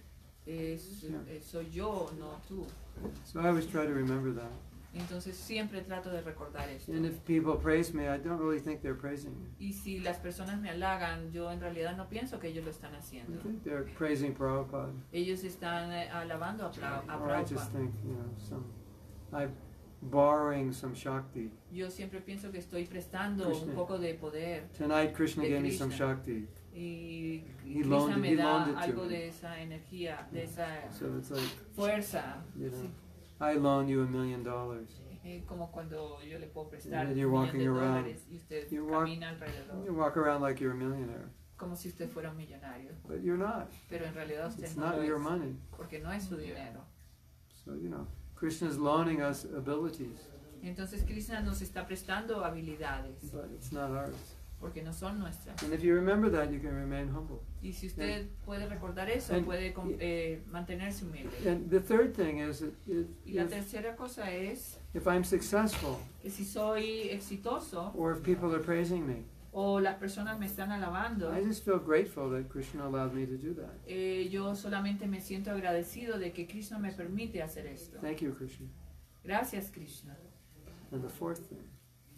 Es, Yeah. eh, soy yo, no tú. So I always try to remember that. Entonces siempre trato de recordar esto. And if people praise me, I don't really think they're praising me. Y si las personas me halagan, yo en realidad no pienso que ellos lo están I haciendo. think they're praising Prabhupada. Ellos están eh, alabando a, Pra- a Or I just Prabhupada. think, you know, some, I'm borrowing some Shakti. Yo siempre pienso que estoy prestando Krishna. un poco de poder Tonight Krishna De gave me some Krishna. Shakti. y He Krishna loaned it- me he da loaned it to algo me. de esa energía, de esa So it's like, fuerza. you know, Sí. I loan you a million dollars. Eh, como cuando yo le puedo prestar And un you're millón walking de around. dólares y usted You walk- camina alrededor You walk around like you're a millionaire, como si usted fuera un millonario, but you're not. pero en realidad usted It's no not lo your es, money. porque no es su dinero. So, you know, Krishna's loaning us abilities, Entonces Krishna nos está prestando habilidades, but it's not ours. porque no son nuestras. And if you remember that, you can remain humble. Y si usted puede recordar eso, And- puede com- eh, mantenerse humilde. And the third thing is that if, Y la if, tercera cosa es if I'm successful, que si soy exitoso or if people are praising me, o las personas me están alabando, I just feel grateful that Krishna allowed me to do that. eh, yo solamente me siento agradecido de que Krishna me permite hacer esto. Thank you, Krishna. Gracias, Krishna. And the fourth thing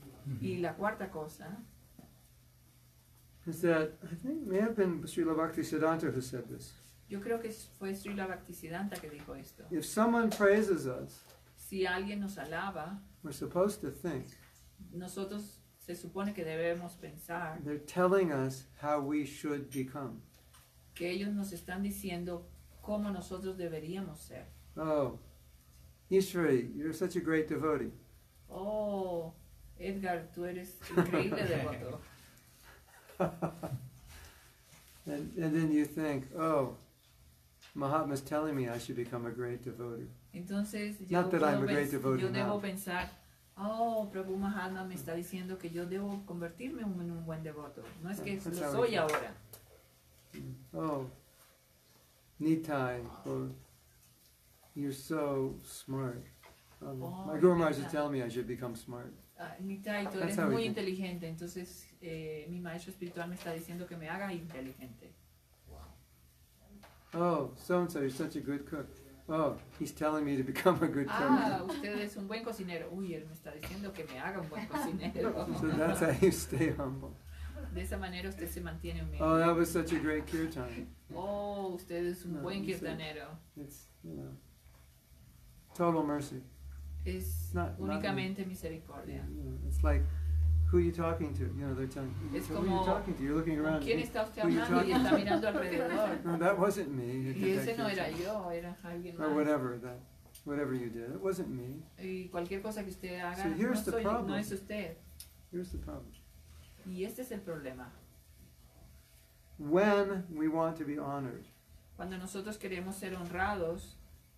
Y la cuarta cosa is that I think it may have been Srila Bhaktisiddhanta who said this. yo creo que fue Srila Bhaktisiddhanta que dijo esto. If someone praises us, Si alguien nos alaba, we're supposed to think nosotros se supone que debemos pensar they're telling us how we should become. que ellos nos están diciendo cómo nosotros deberíamos ser. Oh, Ishwari, you're such a great devotee. Oh, Edgar, tú eres increíble devoto. and, and then you think, oh, Mahatma's telling me I should become a great devotee. Entonces yo, Not that I'm puedo a great pens- devotee yo debo now. pensar, oh, Prabhu Mahatma me está diciendo que yo debo convertirme en un buen devoto. No es que That's lo how soy we- ahora. Oh, Nitai, or you're so smart. Um, Oh, my Guru Maharaj is Nitai. telling me I should become smart. Ah, Nitai, tú That's eres how we muy think. inteligente, entonces eh, mi maestro espiritual me está diciendo que me haga inteligente. Oh, so and so, you're such a good cook. Oh, he's telling me to become a good Ah, cook. usted es un buen cocinero. Uy, él me está diciendo que me haga un buen cocinero. So that's how you stay humble. De esa manera usted se mantiene humilde. Oh, that was such a great kirtan. Oh, usted es un No, buen you say- kirtanero. It's, you know, total mercy. Es Not- not únicamente You misericordia. know, it's like, who are you talking to? You know, they're telling you, Es who are you como, talking to? You're looking ¿con around. quién "Hey, está usted who you hablando? Y talking está to?" mirando alrededor. No, that wasn't me. You Y did that ese no era kirtan. yo, era alguien Or más. whatever, that, whatever you did. It wasn't me. Y cualquier cosa que usted haga, So no, here's the soy, problem. no es usted. Here's the problem. Y este es el problema. When we want to be honored, Cuando nosotros queremos ser honrados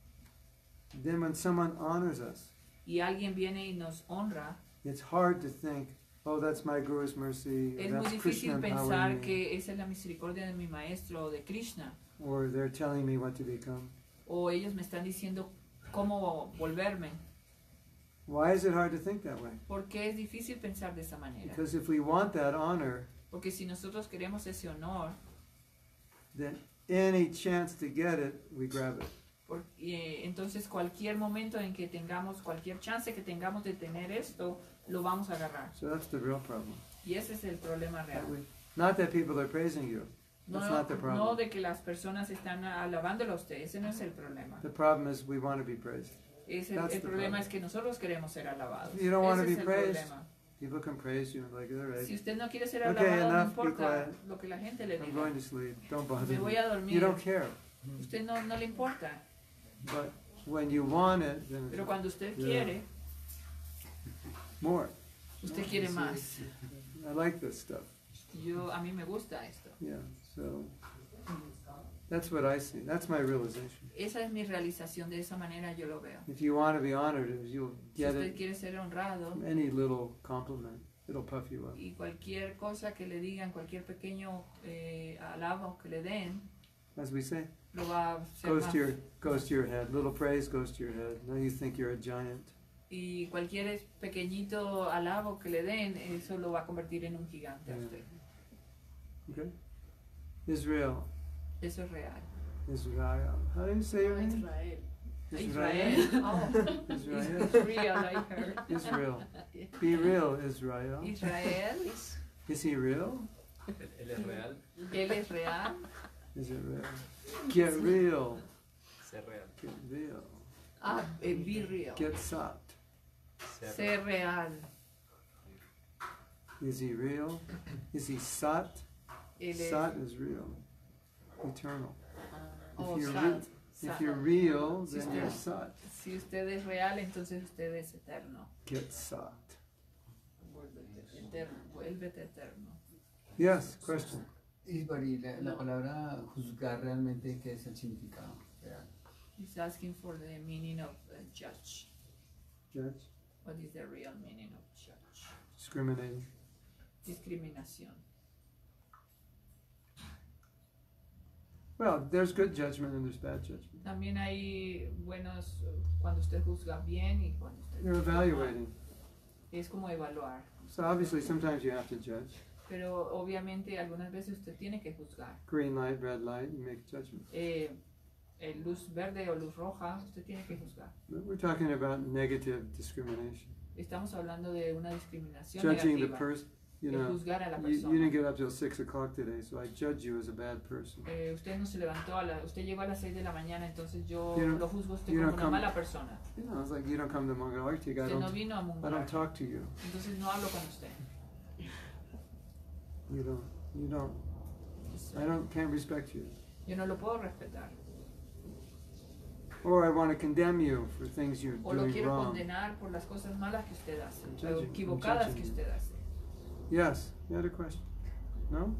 then when someone honors us, y alguien viene y nos honra, it's hard to think, oh, that's my Guru's mercy, or es muy that's difícil Krishna pensar empowering me, que esa es la misericordia de mi maestro o de Krishna. or they're telling me what to become. O ellos me están diciendo cómo volverme. Why is it hard to think that way? ¿Por qué es difícil pensar de esa manera? Because if we want that honor, Porque si nosotros queremos ese honor, then any chance to get it, we grab it. por- eh, entonces cualquier momento en que tengamos, cualquier chance que tengamos de tener esto, lo vamos a agarrar. So that's the real problem. Y ese es el problema real. Not that people are praising you. No, That's not the no problem. de que las personas están alabándolo a usted, ese no es el problema. The problem is we want to be praised. Es el, That's el the problema problem. es que nosotros queremos ser alabados. You don't wanna Ese es be el praised. problema. People can praise you like, all right, Si usted no quiere ser Okay, alabado, no enough, be importa quiet. lo que la gente le I'm diga. going to sleep. Don't bother Me voy me. a dormir. You don't care. Usted no, no le importa. But when you want it, then Pero it's cuando usted Yeah. quiere, more. usted quiere más. I like this stuff. Yo, a mí me gusta esto. Yeah, so that's what I see. That's my realization. Esa es mi realización, de esa manera yo lo veo. If you want to be honored, if you'll Si get usted it quiere ser honrado from any little compliment, it'll puff you up. y cualquier cosa que le digan, cualquier pequeño eh, alabo que le den, As we say, lo va a hacer goes más. to your goes to your head. Little praise goes to your head. Now you think you're a giant. Y cualquier es- pequeñito alabo que le den, eso lo va a convertir en un gigante a Yeah. usted. Okay? Israel. Eso es real. Israel. How do you say your name? Israel. Israel. Oh, Israel. it's real, I heard. Israel. Be real, Israel. Israel, Is he real? Él es real, él es real. Is it real? Get real. ser real. Get real. Ah, eh, be real. Get sat. Ser real. Is he real? Is he sat? Él es Sat is real. Eternal. oh, If you're, sat, re- sat. if you're real, Si then usted- you're sat. Si usted es real, entonces usted es eterno. Get sat. Eterno, vuélvete eterno. Yes, question. Y Bari, la, la palabra juzgar realmente, ¿qué es el significado real? He's asking for the meaning of uh, judge. Judge? What is the real meaning of judge? Discriminating. Discriminación. Well, there's good judgment and there's bad judgment. También hay buenos, uh, cuando usted juzga bien y cuando usted You're juzga mal. evaluating. Es como evaluar. So obviously sometimes you have to judge. Pero obviamente algunas veces usted tiene que juzgar. Green light, red light, you make judgment. Eh, eh, luz verde o luz roja, usted tiene que juzgar. But we're talking about negative discrimination. Estamos hablando de una discriminación Judging the negativa. person, you de know, juzgar a la you, persona. you didn't get up till six o'clock today, so I judge you as a bad person. Eh, usted no se levantó a la, usted llegó a las seis de la mañana, entonces yo You don't- lo juzgo a usted you como don't una come- mala persona. You know, it's like you don't come to Mongol Arctic, I Usted no don't, vino a I Munguar, don't talk to you. entonces no hablo con usted. You don't, you don't, I don't, can't respect you. Yo no lo puedo respetar. Or I want to condemn you for things you're O lo doing quiero wrong. condenar por las cosas malas que usted hace, I'm o judging, I'm equivocadas judging que you. usted hace. Yes, you had a question? No?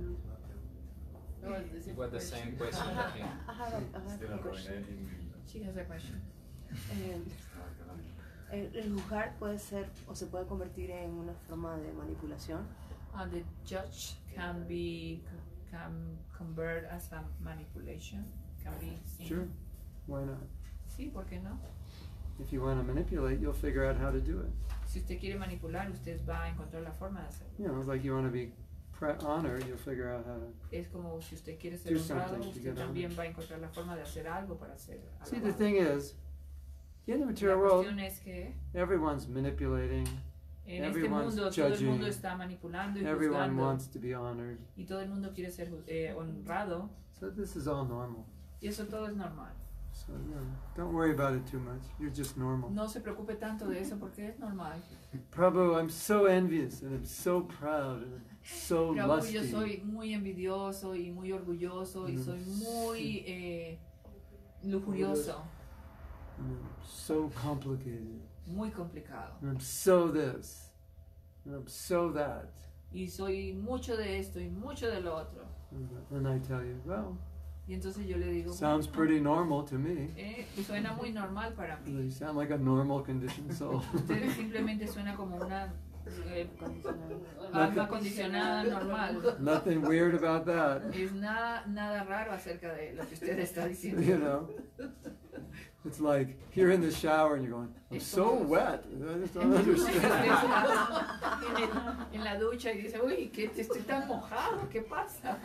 It was the same question that him. I have a, I have a question. She has a question. Eh, el, el juzgar puede ser o se puede convertir en una forma de manipulación. Uh, the judge can be can convert as a manipulation. Can be seen. Sure. Why not? Sí, ¿por qué no? If you want to manipulate, you'll figure out how to do it. Si usted quiere manipular, usted va a encontrar la forma de hacerlo. You know, it's like you want to be pre- honor, you'll figure out how to. Es como si usted quiere ser Do honrado, something to usted get también honored. va a encontrar la forma de hacer algo para ser See, the alabado. thing is, in the La material world, cuestión es que everyone's manipulating, en este everyone's mundo todo el judging, mundo está manipulando y everyone juzgando wants to be honored. y todo el mundo quiere ser eh, honrado So this is all normal. y eso todo es normal. So you know, don't worry about it too much. You're just normal. No se preocupe tanto de eso porque es normal. Prabhu, I'm so envious and I'm so proud and I'm so Prabhu, yo lusty. soy muy envidioso y muy orgulloso y Mm. soy muy eh, lujurioso, And I'm so complicated. muy complicado. And I'm so this. And I'm so that. Y soy mucho de esto y mucho de lo otro. And I tell you, well, Y entonces yo le digo, sounds bueno, pretty normal to me. eh, suena muy normal para mí. You sound like a normal conditioned soul. Usted simplemente suena como una eh, alma condicionada normal. Nothing weird about that. Es nada, nada raro acerca de lo que usted está diciendo. You know, it's like you're in the shower and you're going, I'm so wet. I just don't Usted understand. está en, el- en la ducha y dice, uy, ¿qué, estoy tan mojado? ¿Qué pasa?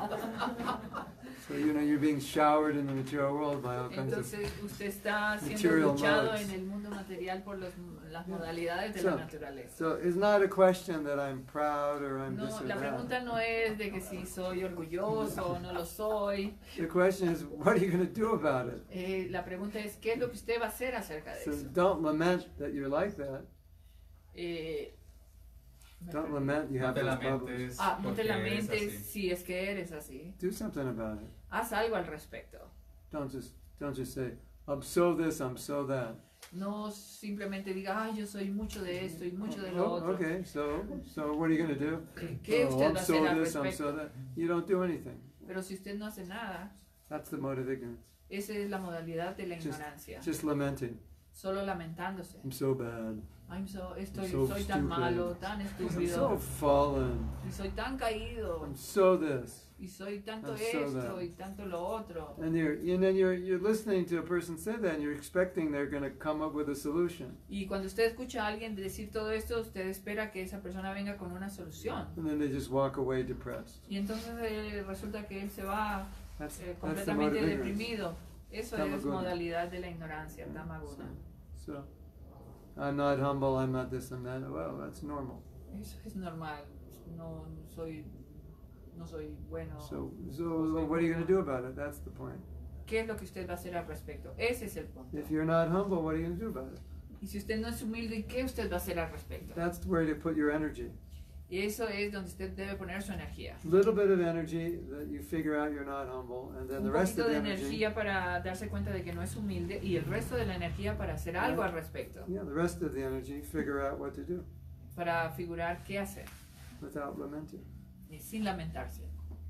So you know, you're being showered in the material world by all kinds of. Entonces usted está siendo material duchado modes. en el mundo material por los, las modalidades de So, la naturaleza. so it's not a question that I'm proud or I'm this No, or la that. pregunta no es de que si soy orgulloso o no lo soy. The question is, what are you going to do about it? Eh, la pregunta es, ¿qué es lo que usted va a hacer acerca de So eso? don't lament that you're like that. Eh, me Don't perdí. lament you No have te those lamentes problems. Ah, no te porque eres lamentes así. si es que eres así. Do something about it. Haz algo al respecto. Don't just don't just say, I'm so this, I'm so that. No simplemente diga, ay, yo soy mucho de esto y mucho de lo Oh, otro. okay, so so what are you going to do? ¿Qué Oh, usted I'm va a so hacer al this, I'm respecto? so that. You don't do anything. Pero si usted no hace nada, That's the mode of ignorance. esa es la modalidad de la Just- ignorancia. Just lamenting. Solo lamentándose. I'm so bad. I'm so, estoy, so soy tan stupid. malo, tan I'm estúpido, so fallen. y soy tan caído, I'm so this. y soy tanto I'm so esto that. y tanto lo otro. And you're and then you're you're listening to a person say that and you're expecting they're going to come up with a solution. Y cuando usted escucha a alguien decir todo esto, usted espera que esa persona venga con una solución. And then they just walk away depressed. Y entonces eh, resulta que él se va That's eh, that's the mode completamente of ignorance. deprimido. Eso es Tamaguna. modalidad de la ignorancia, tamaguna. So I'm not humble, I'm not this, I'm that. Well, that's normal. Eso es normal. No soy, no soy bueno. So so what are you going to do about it? That's the point. ¿Qué es lo que usted va a hacer al respecto? Ese es el punto. If you're not humble, what are you going to do about it? Y si usted no es humilde, ¿qué usted va a hacer al respecto? That's where you put your energy. Y eso es donde usted debe poner su energía. Little bit of energy that you figure out you're not humble, and then Un the rest poquito of de the energy, energía para darse cuenta de que no es humilde y el resto de la energía para hacer algo al respecto. yeah, the rest of the energy, figure out what to do Para figurar qué hacer without lamenting. y sin lamentarse.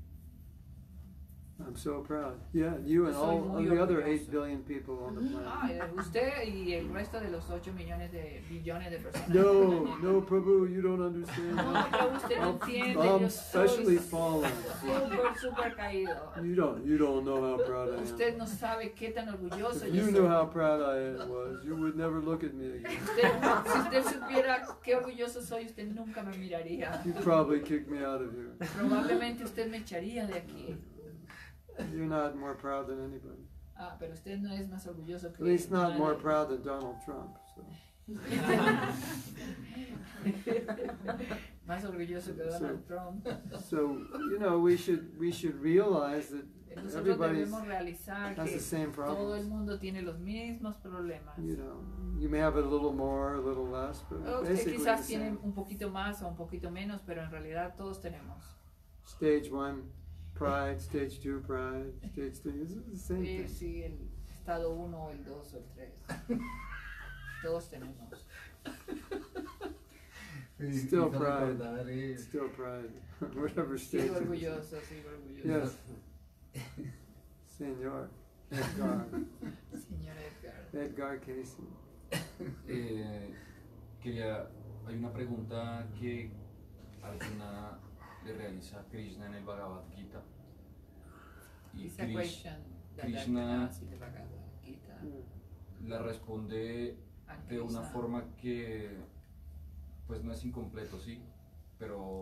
I'm so proud. Yeah, you and Soy all muy of the other orgulloso. eight billion people on the Ah, planet. y usted y el resto de los ocho millones de billones de personas. No, no, Prabhu, you don't understand. No, pero usted no I'm, entiende. I'm Yo especially soy fallen. súper, súper caído. You don't, you don't know how proud I Usted am. no sabe qué tan orgulloso If yo you knew soy. how proud I was, you would never look at me again. Usted- si usted supiera qué orgulloso soy, usted nunca me miraría. You'd probably kick me out of here. Probablemente usted me echaría de aquí. You're not more proud than anybody. Ah, pero usted no es más orgulloso que At least not nadie. more proud than Donald Trump. So. Más orgulloso que Donald Trump. So you know, we should we should realize that Nosotros everybody's debemos realizar has que the same todo el problems. mundo tiene los mismos problemas. You know, you may have it a little more, a little less, but Usted basically the quizás tiene same. un poquito más o un poquito menos, pero en realidad todos tenemos. Stage one, pride. Stage two, pride. Stage three is the same Sí, thing. sí, el estado uno, el dos o el tres. Todos tenemos. Still pride. Still pride. Whatever stage. Sigo it is. orgulloso, sigo orgulloso. Yes. Senor. Edgar. Señor Edgar. Edgar Casey. Eh, quería, hay una pregunta que Arjuna le realiza a Krishna en el Bhagavad Gita. Y It's a Krish- question that Krishna Arjuna así de Bhagavad Gita. la responde And de una Krishna. forma que pues no es incompleto, sí, pero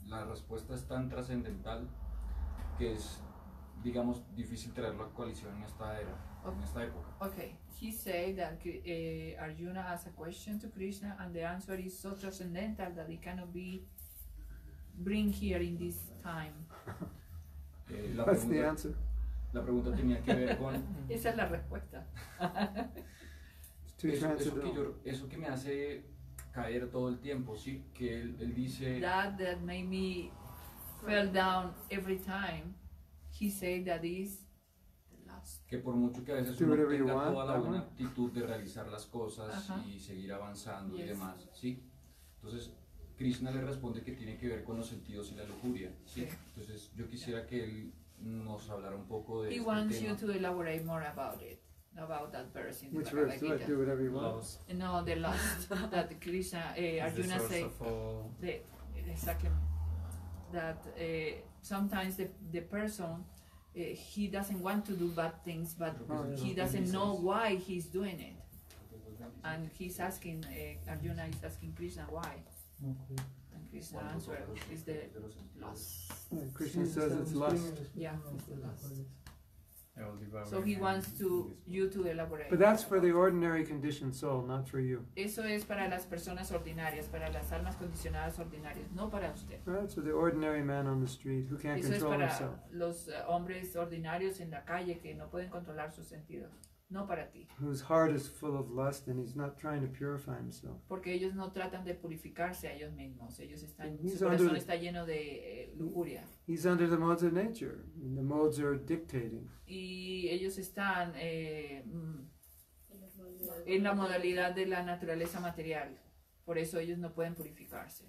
la respuesta es tan trascendental que es, digamos, difícil traerlo a coalición en esta era, en esta época. Okay, he said that uh, Arjuna asked a question to Krishna, and the answer is so transcendental that it cannot be bring here in this time. Eh, la, What's the pregunta, answer? la pregunta tenía que ver con Esa es la respuesta. It's too eso, eso, que transcendental. yo, eso que me hace caer todo el tiempo, ¿sí? Que él, él dice... That that made me fell down every time. He said that is the last. que por mucho que a veces Do uno whatever you tenga want, toda la that buena one. actitud de realizar las cosas Ajá. y seguir avanzando y Yes. demás, ¿sí? Entonces, Krishna le responde que tiene que ver con los sentidos y la lujuria, ¿sí? Sí. Entonces, yo quisiera que él nos hablara un poco de He este wants tema. you to elaborate more about it, about that verse in the Which Bhagavad verse? Do it. Gita. Do whatever you want. Loves No, the last that Krishna, uh, is the Arjuna source said. of all. The, exactly. That uh, sometimes the, the person, uh, he doesn't want to do bad things, but Oh, yeah. he doesn't know why he's doing it. And he's asking, uh, Arjuna is asking Krishna why. And Krishna answer is the loss. Yeah, Krishna says it's lust. Yeah, it's the loss. I will devour So he him. wants to you to elaborate. But that's for the ordinary conditioned soul, not for you. Eso es para las personas ordinarias, para las almas condicionadas ordinarias, no para usted. Right? So the ordinary man on the street who can't Eso es control para himself, los eh, hombres ordinarios en la calle que no pueden controlar sus sentidos, no para ti, whose heart is full of lust and he's not trying to purify himself. porque ellos no tratan de purificarse a ellos mismos, ellos están, He's su corazón under- está lleno de eh, lujuria He's under the modes of nature, and the modes are dictating. y ellos están eh, mm, en la modalidad de la naturaleza material, por eso ellos no pueden purificarse.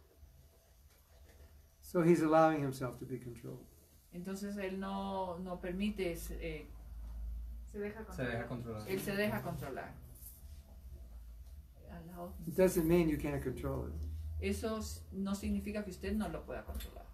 So he's allowing himself to be controlled. Entonces él no, no permite, eh, Se deja Se deja controlar. controlar. él se deja controlar. Allow- It doesn't mean you can't control it. Eso s- no significa que usted no lo pueda controlar.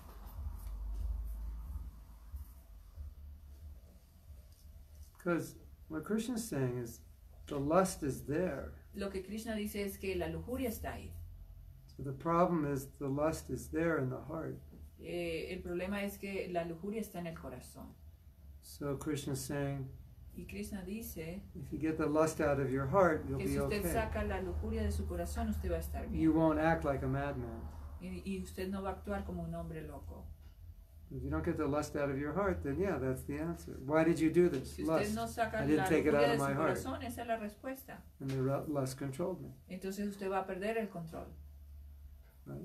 Because what Krishna's saying is the lust is there. Lo que Krishna dice es que la lujuria está ahí. So the problem is the lust is there in the heart. Eh, el problema es que la lujuria está en el corazón. So Krishna's saying Y Krishna dice if you get the lust out of your heart, you'll que be si usted okay. saca la lujuria de su corazón, usted va a estar bien. You won't act like a madman. Y, y usted no va a actuar como un hombre loco. If you don't get the lust out of your heart, then yeah, that's the answer. Why did you do this? Si usted Lust. no saca I didn't la take it out lujuria of de my su heart. corazón, esa es la respuesta. And the ru- lust controlled me. Entonces usted va a perder el control. Right?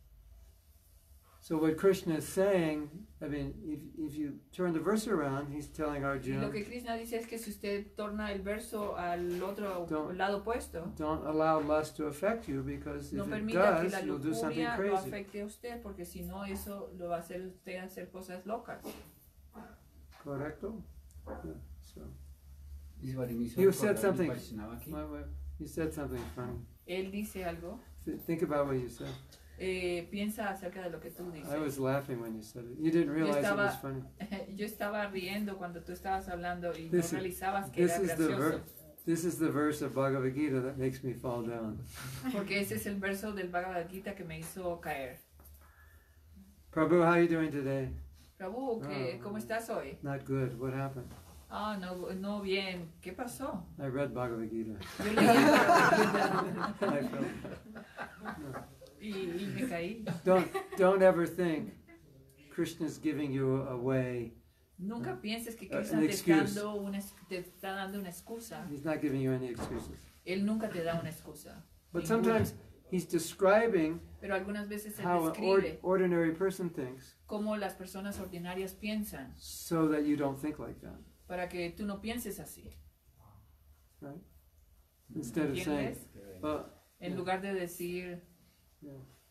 So what Krishna is saying, I mean, if, if you turn the verse around, he's telling Y Arjuna, lo que Krishna dice es que si usted torna el verso al otro Don't- lado opuesto, don't allow lust to affect you, because no if it permita que does, la you'll do something lujuria lo crazy. afecte a usted, porque si no eso lo va a hacer usted hacer cosas locas. Correcto? Yeah, so. Y Svari me hizo You recordar said mi something. Vaishnava aquí. Wait, wait. You said something funny. Él dice algo, Th- Think about what you said. eh, piensa acerca de lo que tú dices. I was laughing when you said it. You didn't realize it estaba- was funny. Yo estaba riendo cuando tú estabas hablando y This is- no realizabas que This era is the gracioso, ver- This is the verse of Bhagavad Gita that makes me fall down. porque ese es el verso del Bhagavad Gita que me hizo caer. Prabhu, how are you doing today? Prabhu, ¿qué- Ah. ¿cómo estás hoy? Not good. What happened? Ah, no, no bien. ¿Qué pasó? I read Bhagavad Gita. Yo leí el Bhagavad Gita I felt. y, y me caí. Don't don't ever think Krishna's giving you a way. Nunca pienses que Uh, Krishna an te está, excuse. dando una, es- te está dando una excusa. He's not giving you any excuses. Él nunca te da una excusa. But Ninguna. sometimes he's describing Pero algunas veces él how an or- describe ordinary person thinks, cómo las personas ordinarias piensan so that you don't think like that, para que tú no pienses así. right? Instead of saying, ¿Entiendes? uh, En lugar de decir, yeah.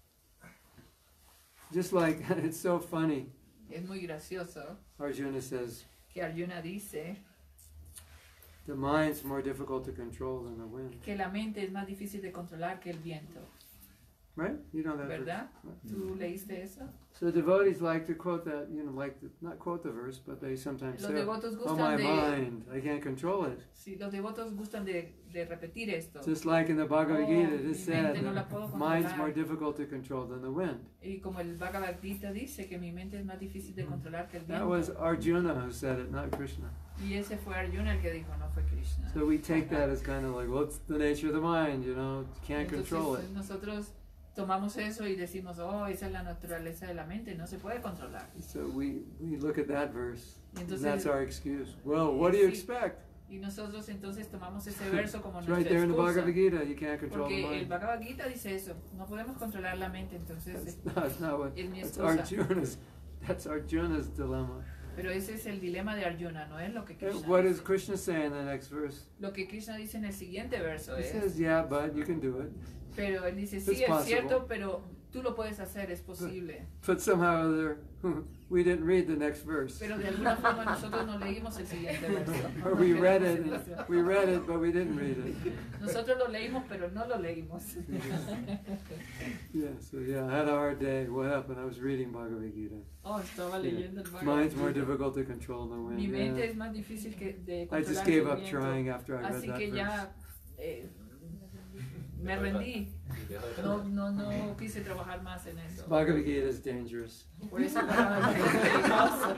Just like it's so funny. es muy gracioso Arjuna says que Arjuna dice the mind's more difficult to control than the wind. que la mente es más difícil de controlar que el viento. Right? You know that ¿verdad? verse. ¿Tú leíste eso? So devotees like to quote that, you know, like to, not quote the verse, but they sometimes Los say, devotos oh my gustan de, mind, I can't control it. sí, los devotos gustan de, de repetir esto. Just like in the Bhagavad Oh, Gita, it mi is said mente no la puedo that mind's controlar. more difficult to control than the wind. Y como el Bhagavad Gita dice que mi mente es más difícil de controlar que el That viento. was Arjuna who said it, not Krishna. Y ese fue Arjuna el que dijo, no fue Krishna. So we take that as kind of like, well, it's the nature of the mind, you know, can't Entonces, control it. nosotros tomamos eso y decimos, oh, esa es la naturaleza de la mente, no se puede controlar. So we, we look at that verse, Y and entonces, that's our excuse. Well, what do you sí, expect? y nosotros entonces tomamos ese verso como It's nuestra right there in the excusa. Bhagavad Gita, you can't control the Porque el mind. Bhagavad Gita dice eso, no podemos controlar la mente, entonces That's not, not what, es mi that's excusa. Arjuna's, that's Arjuna's dilemma. Pero ese es el dilema de Arjuna, no es lo que And Krishna what does dice. Krishna say in the next verse? Lo que Krishna dice en el siguiente verso He es, says, yeah, but you can do it. pero él dice, It's sí, es possible. cierto, pero tú lo puedes hacer, es posible. But somehow or other, we didn't read the next verse. Pero de alguna forma nosotros no leímos el siguiente verso. Or we read it, and we read it, but we didn't read it. Nosotros lo leímos, pero no lo leímos. Yeah, so yeah, I had a hard day. What happened? I was reading Bhagavad Gita. Oh, estaba Yeah. leyendo el Bhagavad Mine's more Gita. difficult to control than Mi wind. mente Yeah. es más difícil que de I controlar just que gave el up viento. trying after I read Así that que verse. ya eh, me rendí. No, no, no quise trabajar más en eso. Bhagavad Gita is dangerous. Por eso el Bhagavad Gita es peligroso.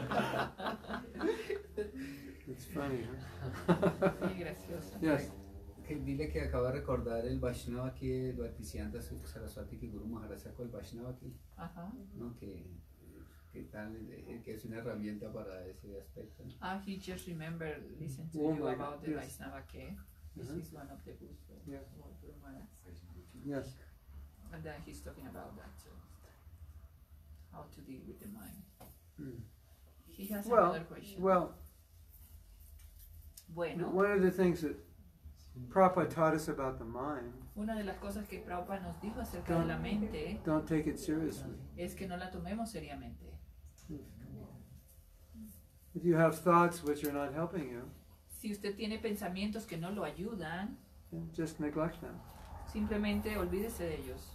It's funny, huh? Muy gracioso. Yes. Que dile que acaba de recordar el Vaishnava que el Bhaktisiddhanta Saraswati que Guru Maharaj sacó el Vaishnava aquí, Ajá. ¿no? Que, que, tal, eh, que es una herramienta para ese aspecto, ¿no? Ah, he just remembered listen to Oh you my about God, the yes. Vaishnava que this Uh-huh. is one of the books of Yeah. Guru Maharaj. Yes. And then he's talking about that too. How to deal with the mind. Mm. He has Well, another question. well, Bueno, one of the things that Prabhupada taught us about the mind, una de las cosas que Prabhupada nos dijo acerca de la mente don't take it seriously. es que no la tomemos seriamente. If you have thoughts which are not helping you, Si usted tiene pensamientos que no lo ayudan, then just neglect them. simplemente olvídese de ellos.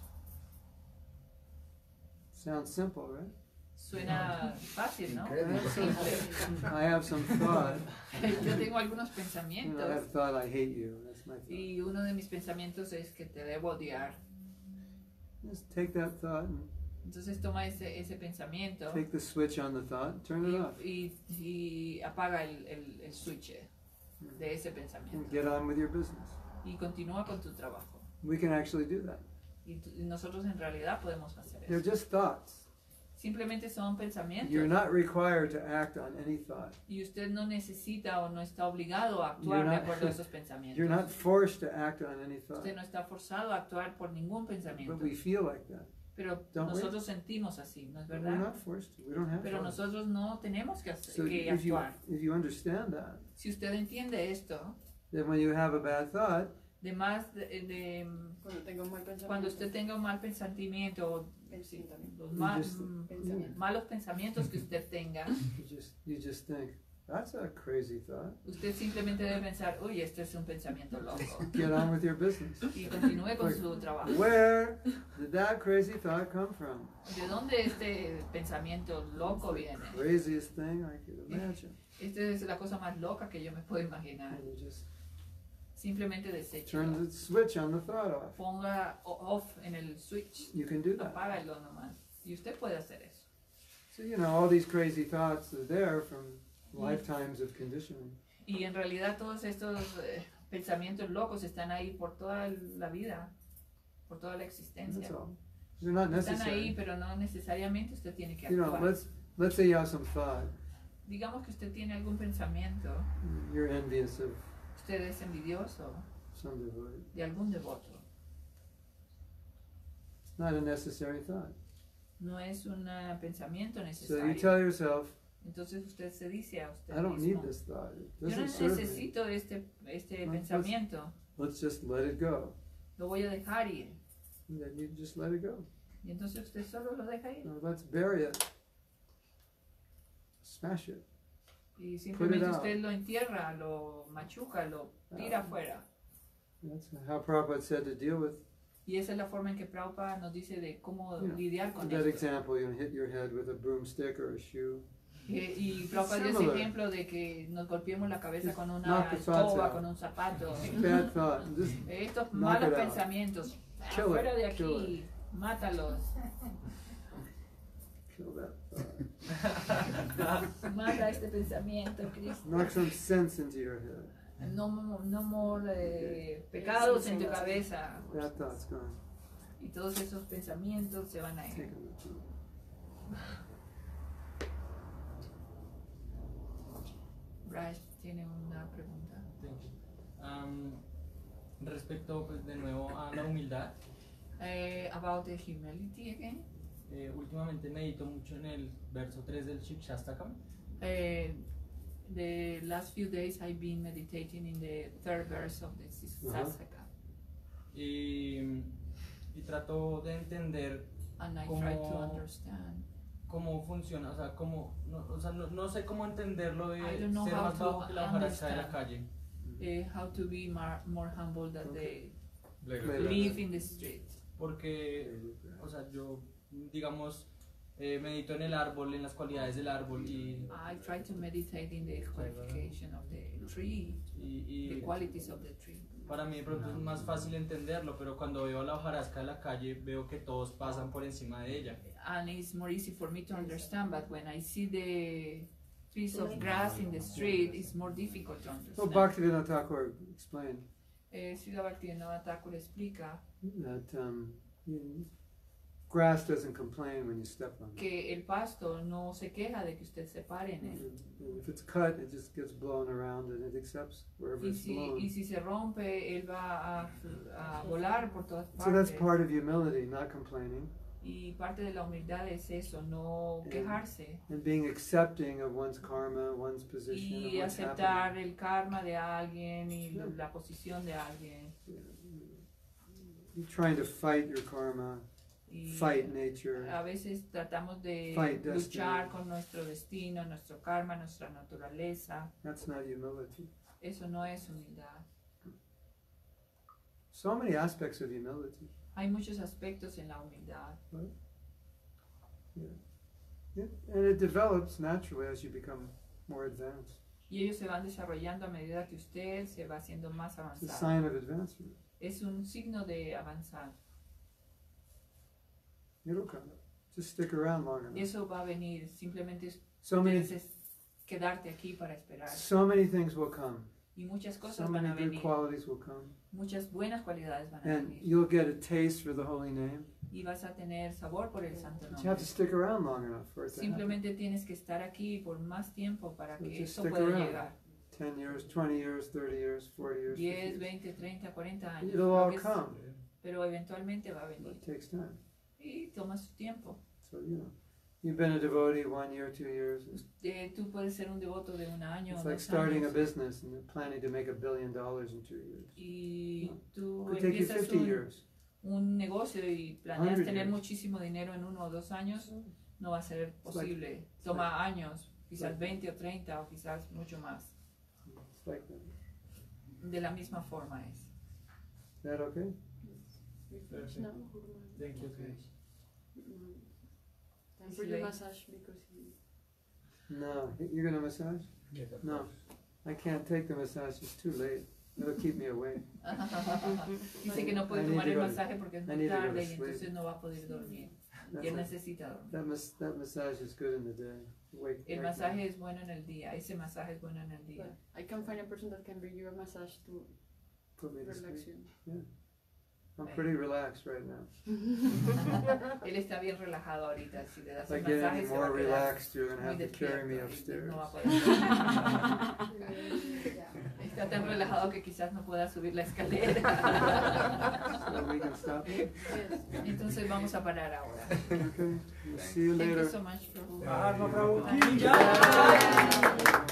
Sounds simple, right? Suena fácil, ¿no? Increíble. Simple. I have some thought. Yo tengo algunos You know, I pensamientos have thought I hate you. That's my thought. y uno de mis pensamientos es que te debo odiar. Just take that thought and Entonces toma ese, ese pensamiento take the switch on the thought, turn it off, y, y, y apaga el, el, el switch de ese and pensamiento get on with your business. y continúa con tu trabajo. We can actually do that. Y, tu- y nosotros en realidad podemos hacer They're eso. just thoughts. Simplemente son pensamientos You're not required to act on any thought. y usted no necesita o no está obligado a actuar You're de not- acuerdo a esos pensamientos. You're not forced to act on any thought. Usted no está forzado a actuar por ningún pensamiento. But we feel like that. Pero Don't we? nosotros sentimos así, ¿no es But we're verdad? not forced to. We don't have Pero to. nosotros no tenemos que, hacer, So que if you, actuar. if you understand that, Si usted entiende esto, then when you have a bad thought, de más de, de- Cuando tengo un mal pensamiento. cuando usted tenga un mal pensamiento o Pensamiento. los ma- just- mm, Pensamiento. malos pensamientos que usted tenga, you just you just think, that's a crazy thought. usted simplemente debe pensar, uy, este es un pensamiento loco. Get on with your business. Y continúe con su trabajo. Where did that crazy thought come from? ¿De dónde este pensamiento loco viene? Craziest thing I could imagine. Esta es la cosa más loca que yo me puedo imaginar. And you just Simplemente deseche. turn the switch on the thought off. Ponga o- off en el switch. You can do that. Apágalo nomás. Y usted puede hacer eso. So you know all these crazy thoughts are there from lifetimes of conditioning. Y en realidad todos estos eh, pensamientos locos están ahí por toda la vida, por toda la existencia. That's all. They're not Están ahí, necessary. pero no necesariamente usted tiene que You know, actuar. let's let's say you have some thought. Digamos que usted tiene algún pensamiento, You're envious of usted es envidioso some devotee. de algún devoto. It's not a necessary thought. No es un eh, pensamiento So you necesario. tell yourself, Entonces usted se dice a usted I don't need mismo, this thought. It yo no doesn't serve me. necesito este, este No, pues- pensamiento, Let's just let it go. lo voy a dejar ir. And then you just let it go. Y entonces usted solo lo deja ir. No, let's bury it. Smash it. Y simplemente out. usted lo entierra, lo machuca, lo tira Ah. afuera. That's how Prabhupada said to deal with Y esa es la forma en que Prabhupada nos dice de cómo Yeah. lidiar con That esto. example, you know, hit your head with a broomstick or a shoe. Eh, y Prabhupada dio ese Similar. ejemplo de que nos golpeemos la cabeza Just con una knock the thoughts escoba, out. con un zapato. Bad thought. and Just Eh, Estos Knock malos it out. pensamientos, Kill fuera it, de kill aquí, mátalos. kill that thought. Mata este pensamiento, Cristo. Knock some sense into your head. No, no more eh, pecados en tu cabeza. That thought's gone. Y todos esos pensamientos se van a Take ir. them. Raj tiene una pregunta. Thank you. Um, respecto, pues, de nuevo a la humildad, Eh, about the humility again. eh, últimamente medito mucho en el verso tres del Shikshastakam. Eh, the last few days I've been meditating in the third verse of the Sasaka. Y, y trato de entender And I Como- try to understand. cómo funciona, o sea, cómo, no, o sea, no, no sé cómo entenderlo de I don't know ser how más to bajo que la hojarasca de la understand. calle. Eh, how to be more, more humble than Okay. they Later. live in the street. Porque, o sea, yo, digamos, eh, medito en el árbol, en las cualidades del árbol y, I try to meditate in the qualification of the tree, y, the y qualities of the tree. para mí de pronto es más fácil entenderlo, pero cuando veo la hojarasca de la calle veo que todos pasan por encima de ella. And it's more easy for me to understand, but when I see the piece of grass in the street, it's more difficult to So understand. Bhaktivinoda Thakur explained Eh, Srila Bhaktivinoda Thakur explica that um, you- grass doesn't complain when you step on it. que el pasto no se queja de que usted se pare en él. And if it's cut, it just gets blown around and it accepts wherever Y it's si, blown. y si se rompe, él va a, a volar por todas So that's partes. part of humility, not complaining, Y parte de la humildad es eso, no quejarse. and being accepting of one's karma, one's position, of Y what's aceptar happening. el karma de alguien y Yeah. la posición de alguien. You're trying to fight your karma, Y fight nature. a veces tratamos de Fight destiny. luchar con nuestro destino, nuestro karma, nuestra naturaleza. That's not humility. Eso no es humildad. So many aspects of humility. Hay muchos aspectos en la humildad. Yeah. And it develops naturally as you become more advanced. Y ellos se van desarrollando a medida que usted se va haciendo más It's a avanzado. sign of advancement. Es un signo de avanzar. It'll come. Just stick around long enough. Eso va a venir. Simplemente So many, tienes que quedarte aquí para esperar. so many things will come. Y muchas cosas So van many a good venir. qualities will come. Muchas buenas cualidades van a And venir. you'll get a taste for the holy name. Y vas a tener sabor por el santo But you have nombre. to stick around long enough for it to happen. Simplemente tienes que estar aquí por más tiempo para So que just eso stick pueda around. llegar. ten years, twenty years, thirty years, forty years, fifty diez, years. veinte, treinta, cuarenta años. It'll lo all que es- come. Pero eventualmente va a But venir. it takes time. Y toma su tiempo. So, you know, you've been a devotee one year, two years. Eh, tú puedes ser un devoto de un año, It's dos like starting a años. business and you're planning to make a billion dollars in two years. Y tú Could take you empiezas fifty un, years. un negocio y planeas Hundred tener years. muchísimo dinero en uno o dos años, no va a ser like- posible. it's Toma años, quizás like- veinte o treinta o quizás mucho más. It's like that. De la misma forma es. Is that okay? No. Thank you. Okay. Time for your massage because he... No, you're gonna massage? No, I can't take the massage. It's too late. It'll keep me awake. Dice que no puede I need tomar to el go to- masaje porque es I muy need to go to tarde y sleep. entonces no va a poder dormir. Y That's él a- necesita dormir. that, mas- that massage is good in the day. Wake, El wake masaje es bueno en el día, ese masaje es bueno en el día. I can find a person that can bring you a massage to Put me to relax sleep. you. I'm pretty relaxed right now. Él está bien relajado ahorita, si le das If I el get masaje any se va more a quedar relaxed, you're gonna muy have to carry me despierto y upstairs. no va a poder. Está tan relajado que quizás no pueda subir la escalera. So we can stop. Entonces vamos a parar ahora. Okay. We'll see you Thank you later. so much, Prabhu. Mahatma Prabhu ki Jai.